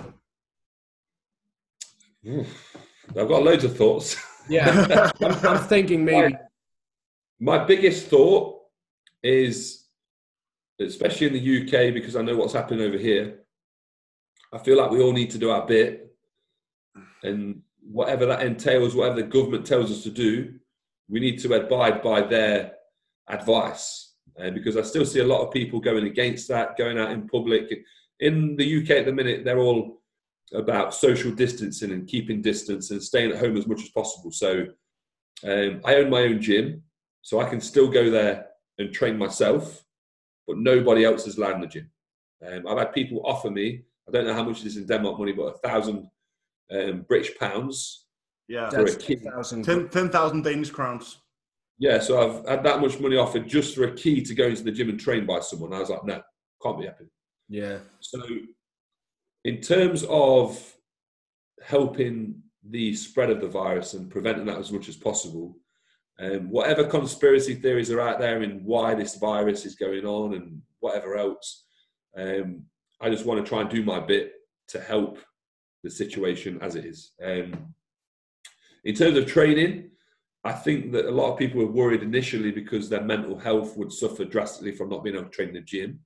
I've got loads of thoughts. Yeah, I'm, I'm thinking maybe. My biggest thought is, especially in the U K, because I know what's happening over here, I feel like we all need to do our bit. And whatever that entails, whatever the government tells us to do, we need to abide by their advice. Uh, because I still see a lot of people going against that, going out in public. In the U K at the minute, they're all about social distancing and keeping distance and staying at home as much as possible. So um, I own my own gym, so I can still go there and train myself, but nobody else is allowed in the gym. Um, I've had people offer me, I don't know how much it is in Denmark money, but a thousand um, British pounds Yeah, for a That's key. ten thousand. ten ten thousand Danish crowns. Yeah, so I've had that much money offered just for a key to go into the gym and train by someone. I was like, no, can't be happening. Yeah. So in terms of helping the spread of the virus and preventing that as much as possible, um, whatever conspiracy theories are out there in why this virus is going on and whatever else, um, I just want to try and do my bit to help the situation as it is. Um, in terms of training, I think that a lot of people were worried initially because their mental health would suffer drastically from not being able to train in the gym.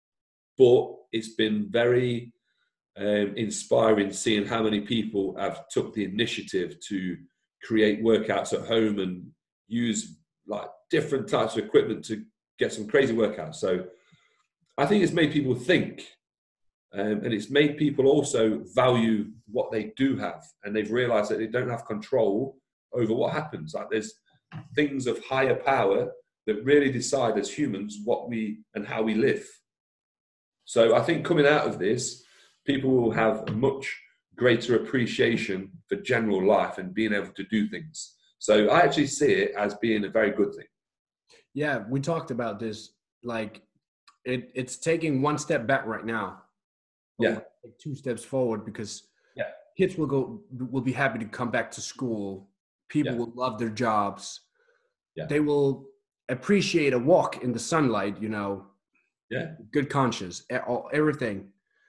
But it's been very um, inspiring seeing how many people have took the initiative to create workouts at home and use like different types of equipment to get some crazy workouts. So I think it's made people think, um, and it's made people also value what they do have, and they've realized that they don't have control over what happens. Like there's things of higher power that really decide as humans what we and how we live. So I think coming out of this, people will have a much greater appreciation for general life and being able to do things. So I actually see it as being a very good thing. Yeah, we talked about this. Like, it, it's taking one step back right now. Yeah. Like two steps forward because Yeah. kids will go will be happy to come back to school. People Yeah. will love their jobs. Yeah. They will appreciate a walk in the sunlight, you know. Yeah. Good conscience, e- all- everything.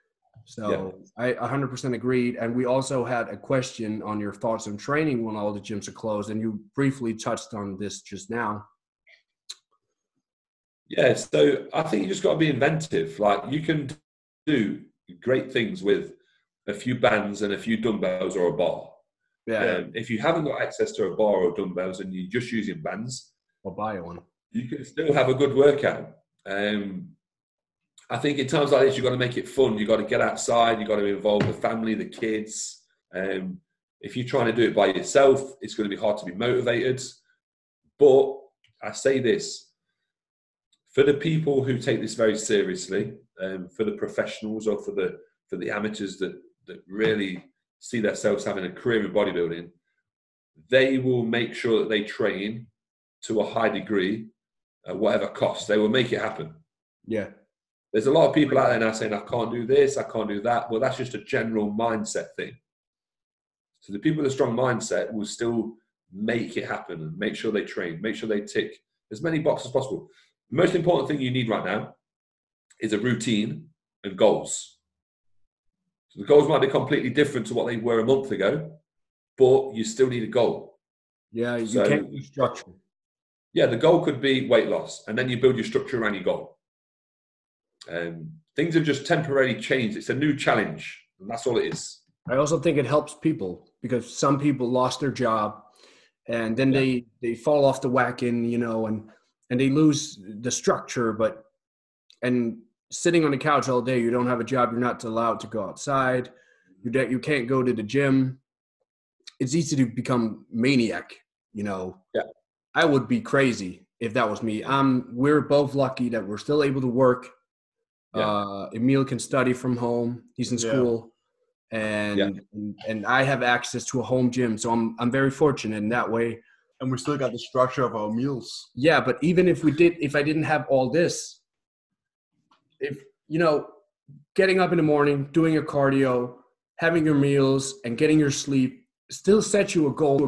So I one hundred percent agreed. And we also had a question on your thoughts on training when all the gyms are closed. And you briefly touched on this just now. Yeah, so I think you just got to be inventive. Like you can do great things with a few bands and a few dumbbells or a bar. Yeah. Um, if you haven't got access to a bar or dumbbells and you're just using bands, I'll buy one. you can still have a good workout. Um, I think in times like this, you've got to make it fun. You've got to get outside. You've got to involve the family, the kids. Um, if you're trying to do it by yourself, it's going to be hard to be motivated. But I say this, for the people who take this very seriously, um, for the professionals or for the for the amateurs that, that really see themselves having a career in bodybuilding, they will make sure that they train to a high degree at whatever cost. They will make it happen. Yeah. There's a lot of people out there now saying, I can't do this, I can't do that. Well, that's just a general mindset thing. So the people with a strong mindset will still make it happen and make sure they train, make sure they tick as many boxes as possible. The most important thing you need right now is a routine and goals. So the goals might be completely different to what they were a month ago, but you still need a goal. Yeah, you So- can't use structure. Yeah, the goal could be weight loss, and then you build your structure around your goal. Um, things have just temporarily changed. It's a new challenge, and that's all it is. I also think it helps people because some people lost their job and then Yeah. they, they fall off the wagon, you know, and, and they lose the structure, but, and sitting on the couch all day, you don't have a job. You're not allowed to go outside. You don't, you can't go to the gym. It's easy to become maniac, you know. Yeah. I would be crazy if that was me. Um, we're both lucky that we're still able to work. Yeah. Uh, Emil can study from home. He's in Yeah. school. And, Yeah. and and I have access to a home gym, so I'm I'm very fortunate in that way. And we still got the structure of our meals. Yeah, but even if we did, if I didn't have all this, if you know, getting up in the morning, doing your cardio, having your meals, and getting your sleep still sets you a goal.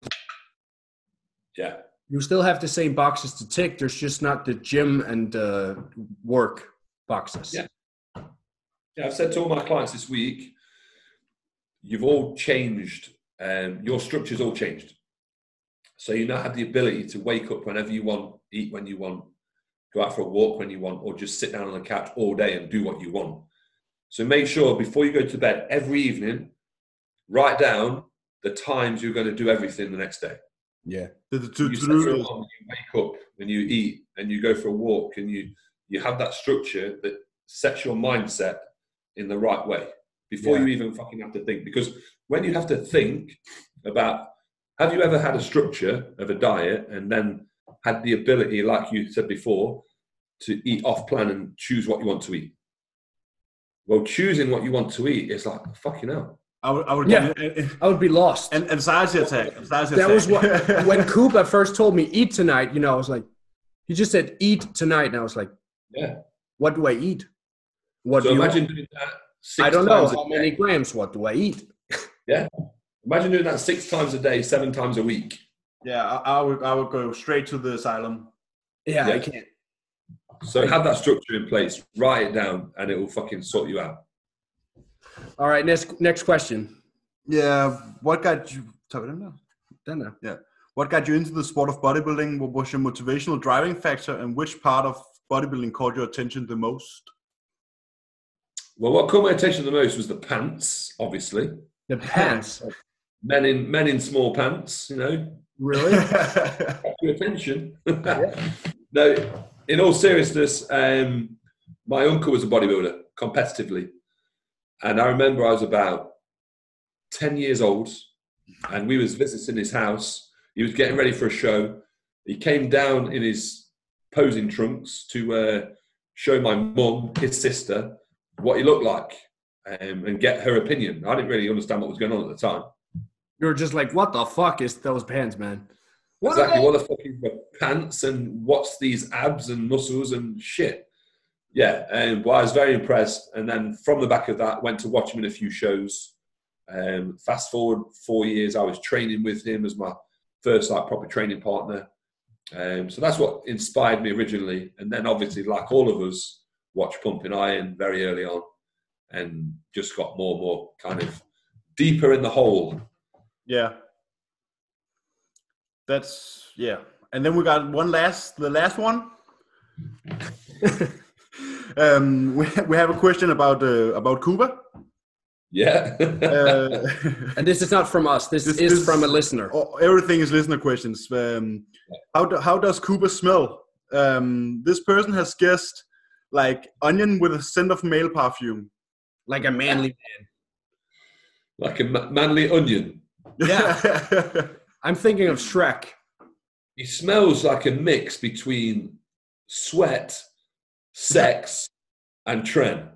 Yeah. You still have the same boxes to tick. There's just not the gym and uh, work boxes. Yeah. Yeah, I've said to all my clients this week, you've all changed, um, your structure's all changed. So you now have the ability to wake up whenever you want, eat when you want, go out for a walk when you want, or just sit down on the couch all day and do what you want. So make sure before you go to bed every evening, write down the times you're going to do everything the next day. Yeah. The, the, to, You to set do your this. alarm when you wake up and you eat and you go for a walk and you, you have that structure that sets your mindset in the right way before Yeah. you even fucking have to think. Because when you have to think about, have you ever had a structure of a diet and then had the ability, like you said before, to eat off plan and choose what you want to eat? Well, choosing what you want to eat is like, fucking hell. I would, I would Yeah. get an I would be lost. an- anxiety attack. Anxiety That was what, attack. when Koopa first told me, eat tonight, you know, I was like, he just said, eat tonight. And I was like, Yeah. what do I eat? What So do you imagine doing that six I don't know times a how day. many grams. What do I eat? Yeah. Imagine doing that six times a day, seven times a week. Yeah, I, I would I would go straight to the asylum. Yeah, Yeah. I can't. So have that structure in place, write it down, and it will fucking sort you out. All right, next next question. Yeah, what got you? Tager vi den der? Den der. Yeah. What got you into the sport of bodybuilding? What was your motivational driving factor, and which part of bodybuilding caught your attention the most? Well, what caught my attention the most was the pants, obviously. The pants. Men in men in small pants, you know, Really? got your attention. No, in all seriousness, um, my uncle was a bodybuilder competitively. And I remember I was about ten years old and we was visiting his house. He was getting ready for a show. He came down in his posing trunks to uh, show my mum, his sister, what he looked like um, and get her opinion. I didn't really understand what was going on at the time. You were just like, what the fuck is those pants, man? What exactly. are What the fuck is the pants and what's these abs and muscles and shit? Yeah. And well, I was very impressed. And then from the back of that, went to watch him in a few shows. Um, fast forward four years, I was training with him as my first like proper training partner. Um, so that's what inspired me originally. And then obviously, like all of us, watched Pumping Iron very early on and just got more and more kind of deeper in the hole. Yeah. That's, yeah. And then we got one last, the last one. um, we, we have a question about, uh, about Koopa. Yeah. Uh, And this is not from us. This, This- is this- from a listener. oh, everything is listener questions. Um, how, do, how does Koopa smell? Um, this person has guessed like onion with a scent of male perfume. Like a manly man. Like a ma- manly onion. Yeah. I'm thinking of Shrek. He smells like a mix between sweat, sex, and Tren.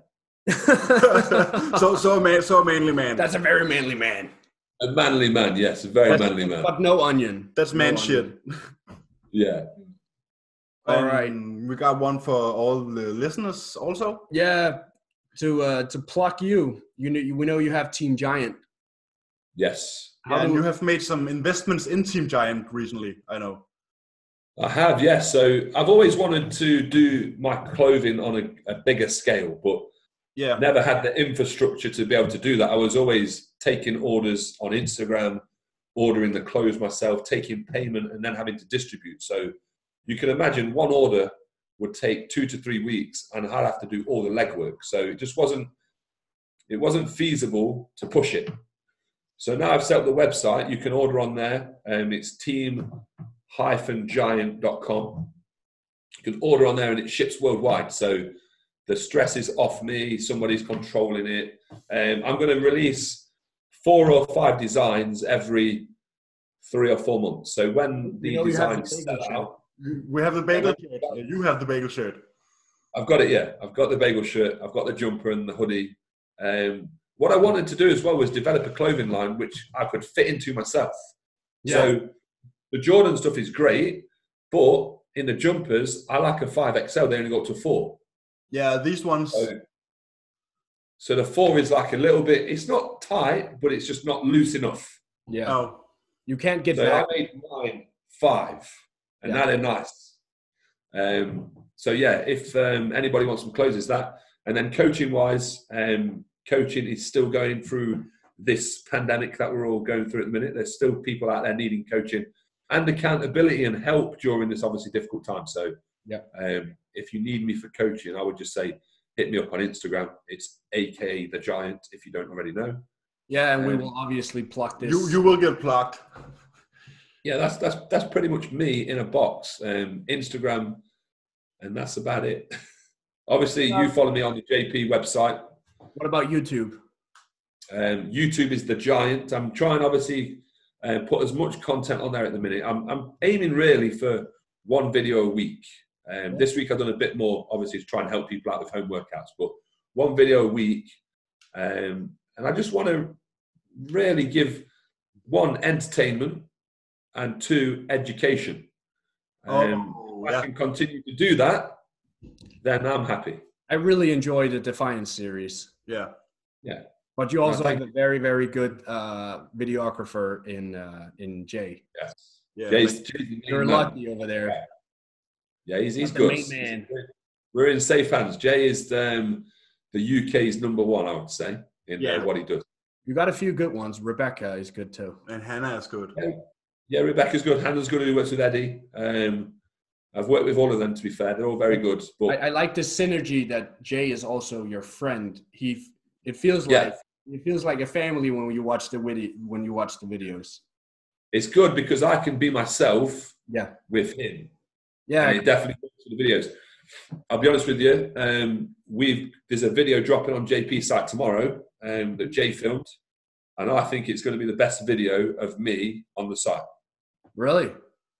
so so a man, so a manly man. That's a very manly man. A manly man, yes, a very But- manly man. But no onion. That's No man onion. shit. Yeah. All right. We got one for all the listeners also. Yeah. To uh, to pluck you, you know, we know you have Team Giant. Yes. Yeah, and you have made some investments in Team Giant recently, I know. I have, yes. So I've always wanted to do my clothing on a, a bigger scale, but yeah, never had the infrastructure to be able to do that. I was always taking orders on Instagram, ordering the clothes myself, taking payment, and then having to distribute. So you can imagine one order would take two to three weeks, and I'd have to do all the legwork. So it just wasn't, it wasn't feasible to push it. So now I've set up the website. You can order on there. Um, it's team giant dot com. You can order on there, and it ships worldwide. So the stress is off me. Somebody's controlling it. Um, I'm going to release four or five designs every three or four months. So when the You know, you have the designs bagel sell shirt. out, we have the bagel shirt. You have the bagel shirt. I've got it, yeah. I've got the bagel shirt. I've got the jumper and the hoodie. Um, what I wanted to do as well was develop a clothing line which I could fit into myself. Yeah. So the Jordan stuff is great, but in the jumpers, I like a five X L. They only go up to four. Yeah, these ones. So, so the four is like a little bit, it's not tight, but it's just not loose enough. Yeah. Oh. You can't get So back. I made mine five, and Yeah. now they're nice. Um, so yeah, if um, anybody wants some clothes, it's that. And then coaching-wise, um, coaching is still going through this pandemic that we're all going through at the minute. There's still people out there needing coaching and accountability and help during this obviously difficult time. So yeah, um, if you need me for coaching, I would just say hit me up on Instagram. It's A K A The Giant, if you don't already know. Yeah, and we Um, will obviously pluck this. You you will get plugged. Yeah, that's that's that's pretty much me in a box. Um, Instagram, and that's about it. Obviously, you follow me on the J P website. What about YouTube? Um, YouTube is The Giant. I'm trying, obviously, uh, put as much content on there at the minute. I'm, I'm aiming really for one video a week. Um, this week I've done a bit more, obviously, to try and help people out with home workouts, but one video a week. Um, and I just want to really give, one, entertainment, and two, education. Um, Oh, if yeah. I can continue to do that, then I'm happy. I really enjoy the Defiance series. Yeah. Yeah. But you also No, thank have a very, very good uh, videographer in uh, in Jay. Yes. Yeah. Jay's, Jay's the main You're man. lucky over there. Yeah, he's, he's The good. main man. We're in safe hands. Jay is um, the U K's number one, I would say, in Yeah. uh, what he does. You got a few good ones. Rebecca is good too. And Hannah is good. Yeah, yeah, Rebecca's good. Hannah's good, who works with Eddie. Um, I've worked with all of them, to be fair. They're all very good. But I, I like the synergy that Jay is also your friend. He, it feels Yeah. like it feels like a family when you watch the video when you watch the videos. it's good because I can be myself Yeah, with him. yeah. And it definitely works for the videos. I'll be honest with you. Um, we've there's a video dropping on J P's site tomorrow um, that Jay filmed, and I think it's going to be the best video of me on the site. Really?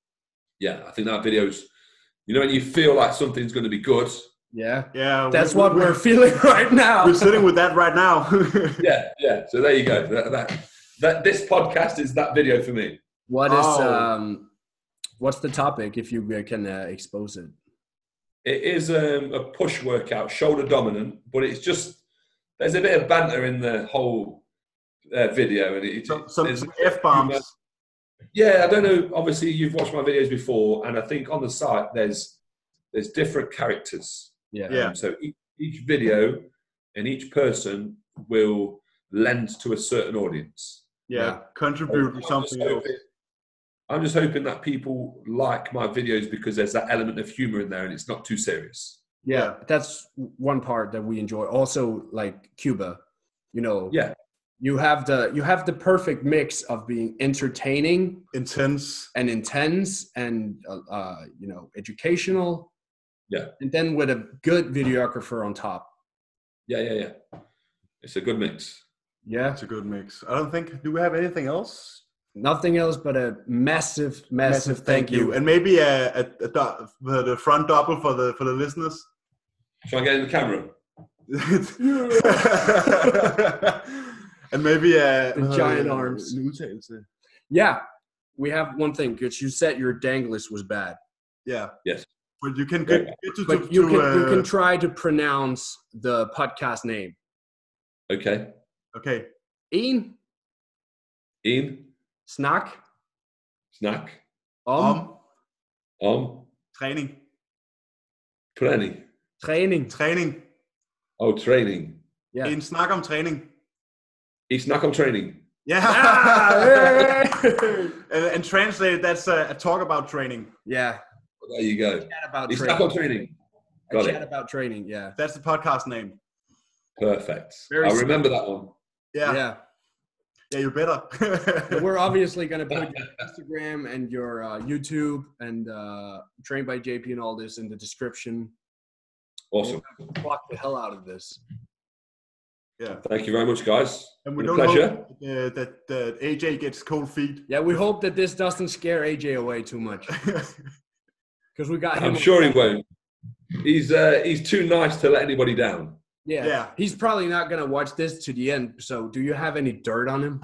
Yeah, I think that video's. You know, when you feel like something's going to be good. Yeah. Yeah. That's we- what we- we're feeling right now. We're sitting with that right now. Yeah, yeah. So there you go. That, that, that this podcast is that video for me. What is Oh. um, what's the topic? If you uh, can uh, expose it. It is um, a push workout, shoulder dominant, but it's just there's a bit of banter in the whole uh, video, and it, some some there's- F bombs. Yeah, I don't know. Obviously, you've watched my videos before, and I think on the site there's there's different characters. Yeah. Yeah. Um, so each, each video and each person will lend to a certain audience. Yeah. Yeah. Contribute to I'm just something else. hoping- I'm just hoping that people like my videos because there's that element of humor in there, and it's not too serious. Yeah, that's one part that we enjoy. Also, like Cuba, you know, Yeah, you have the you have the perfect mix of being entertaining Intense. and intense and uh, uh, you know educational. Yeah. And then with a good videographer on top. yeah, yeah, yeah. It's a good mix. Yeah. It's a good mix. I don't think. Do we have anything else? Nothing else but a massive, massive, thank, you. And maybe a, a, a do- the the front double for the for the listeners. Shall I get in the camera? And maybe a The giant arms. en udtalelse. Yeah, we have one thing because you said your danglers was bad. Yeah. Yes. But you can get, get to, But to, you to, can uh, you can try to pronounce the podcast name. Okay. Okay. En In, snak snack, om Om om, træning. planning. træning. Træning. Oh, training. Ja. En snak om træning. I snack om training. Yeah. Ah, and, and translate, that's a, a talk about training. yeah. There you go. Chat about I snack om training. training. A Got chat it. about training. Yeah. That's the podcast name. Perfect. Very I simple. remember that one. Yeah. Yeah. Yeah, you better. And we're obviously going to put your Instagram and your uh, YouTube and uh, Trained by J P and all this in the description. Awesome. Block the hell out of this. Yeah. Thank you very much, guys. And we Been a don't pleasure. hope uh, that, that A J gets cold feet. Yeah, we hope that this doesn't scare A J away too much because we got him. I'm sure he won't. He's uh, he's too nice to let anybody down. Yeah. Yeah. He's probably not going to watch this to the end. So, do you have any dirt on him?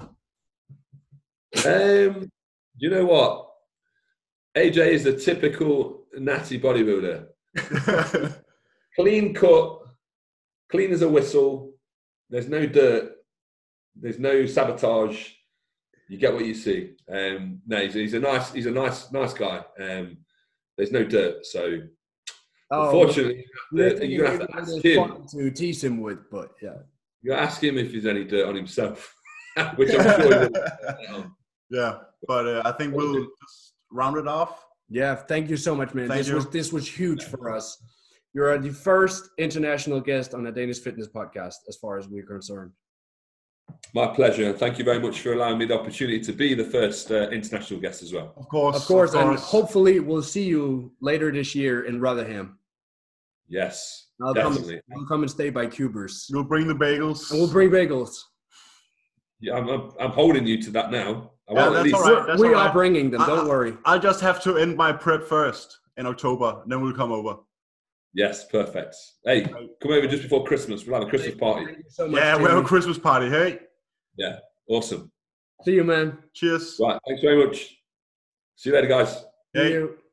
Um, you know what? A J is a typical natty bodybuilder. Clean cut, clean as a whistle. There's no dirt. There's no sabotage. You get what you see. Um, no, he's, he's a nice, he's a nice, nice guy. Um, there's no dirt, so Oh, unfortunately, we have you to- you're gonna have to it ask is him. fun to tease him with, but yeah. You ask him if there's any dirt on himself, which I'm sure he will. Yeah, but uh, I think we'll just round it off. Yeah, thank you so much, man. Thank this you. was this was huge for us. You're the first international guest on the Danish Fitness Podcast, as far as we're concerned. My pleasure. And thank you very much for allowing me the opportunity to be the first uh, international guest as well. Of course. Of course, of and course. hopefully we'll see you later this year in Rotherham. Yes, I'll come, definitely. I'll come and stay by Cubers. You'll bring the bagels. And we'll bring bagels. Yeah, I'm, I'm, I'm holding you to that now. I Yeah, want at that's least. all right. That's we all are right. bringing them, don't I- worry. I'll just have to end my prep first in October, and then we'll come over. Yes, perfect. Hey, come over just before Christmas. We'll have a Christmas party. Thank you so much, Yeah, we have a Jamie. Christmas party. Hey, Yeah, awesome. See you, man. cheers. Right, thanks very much. See you later, guys. See Hey. you.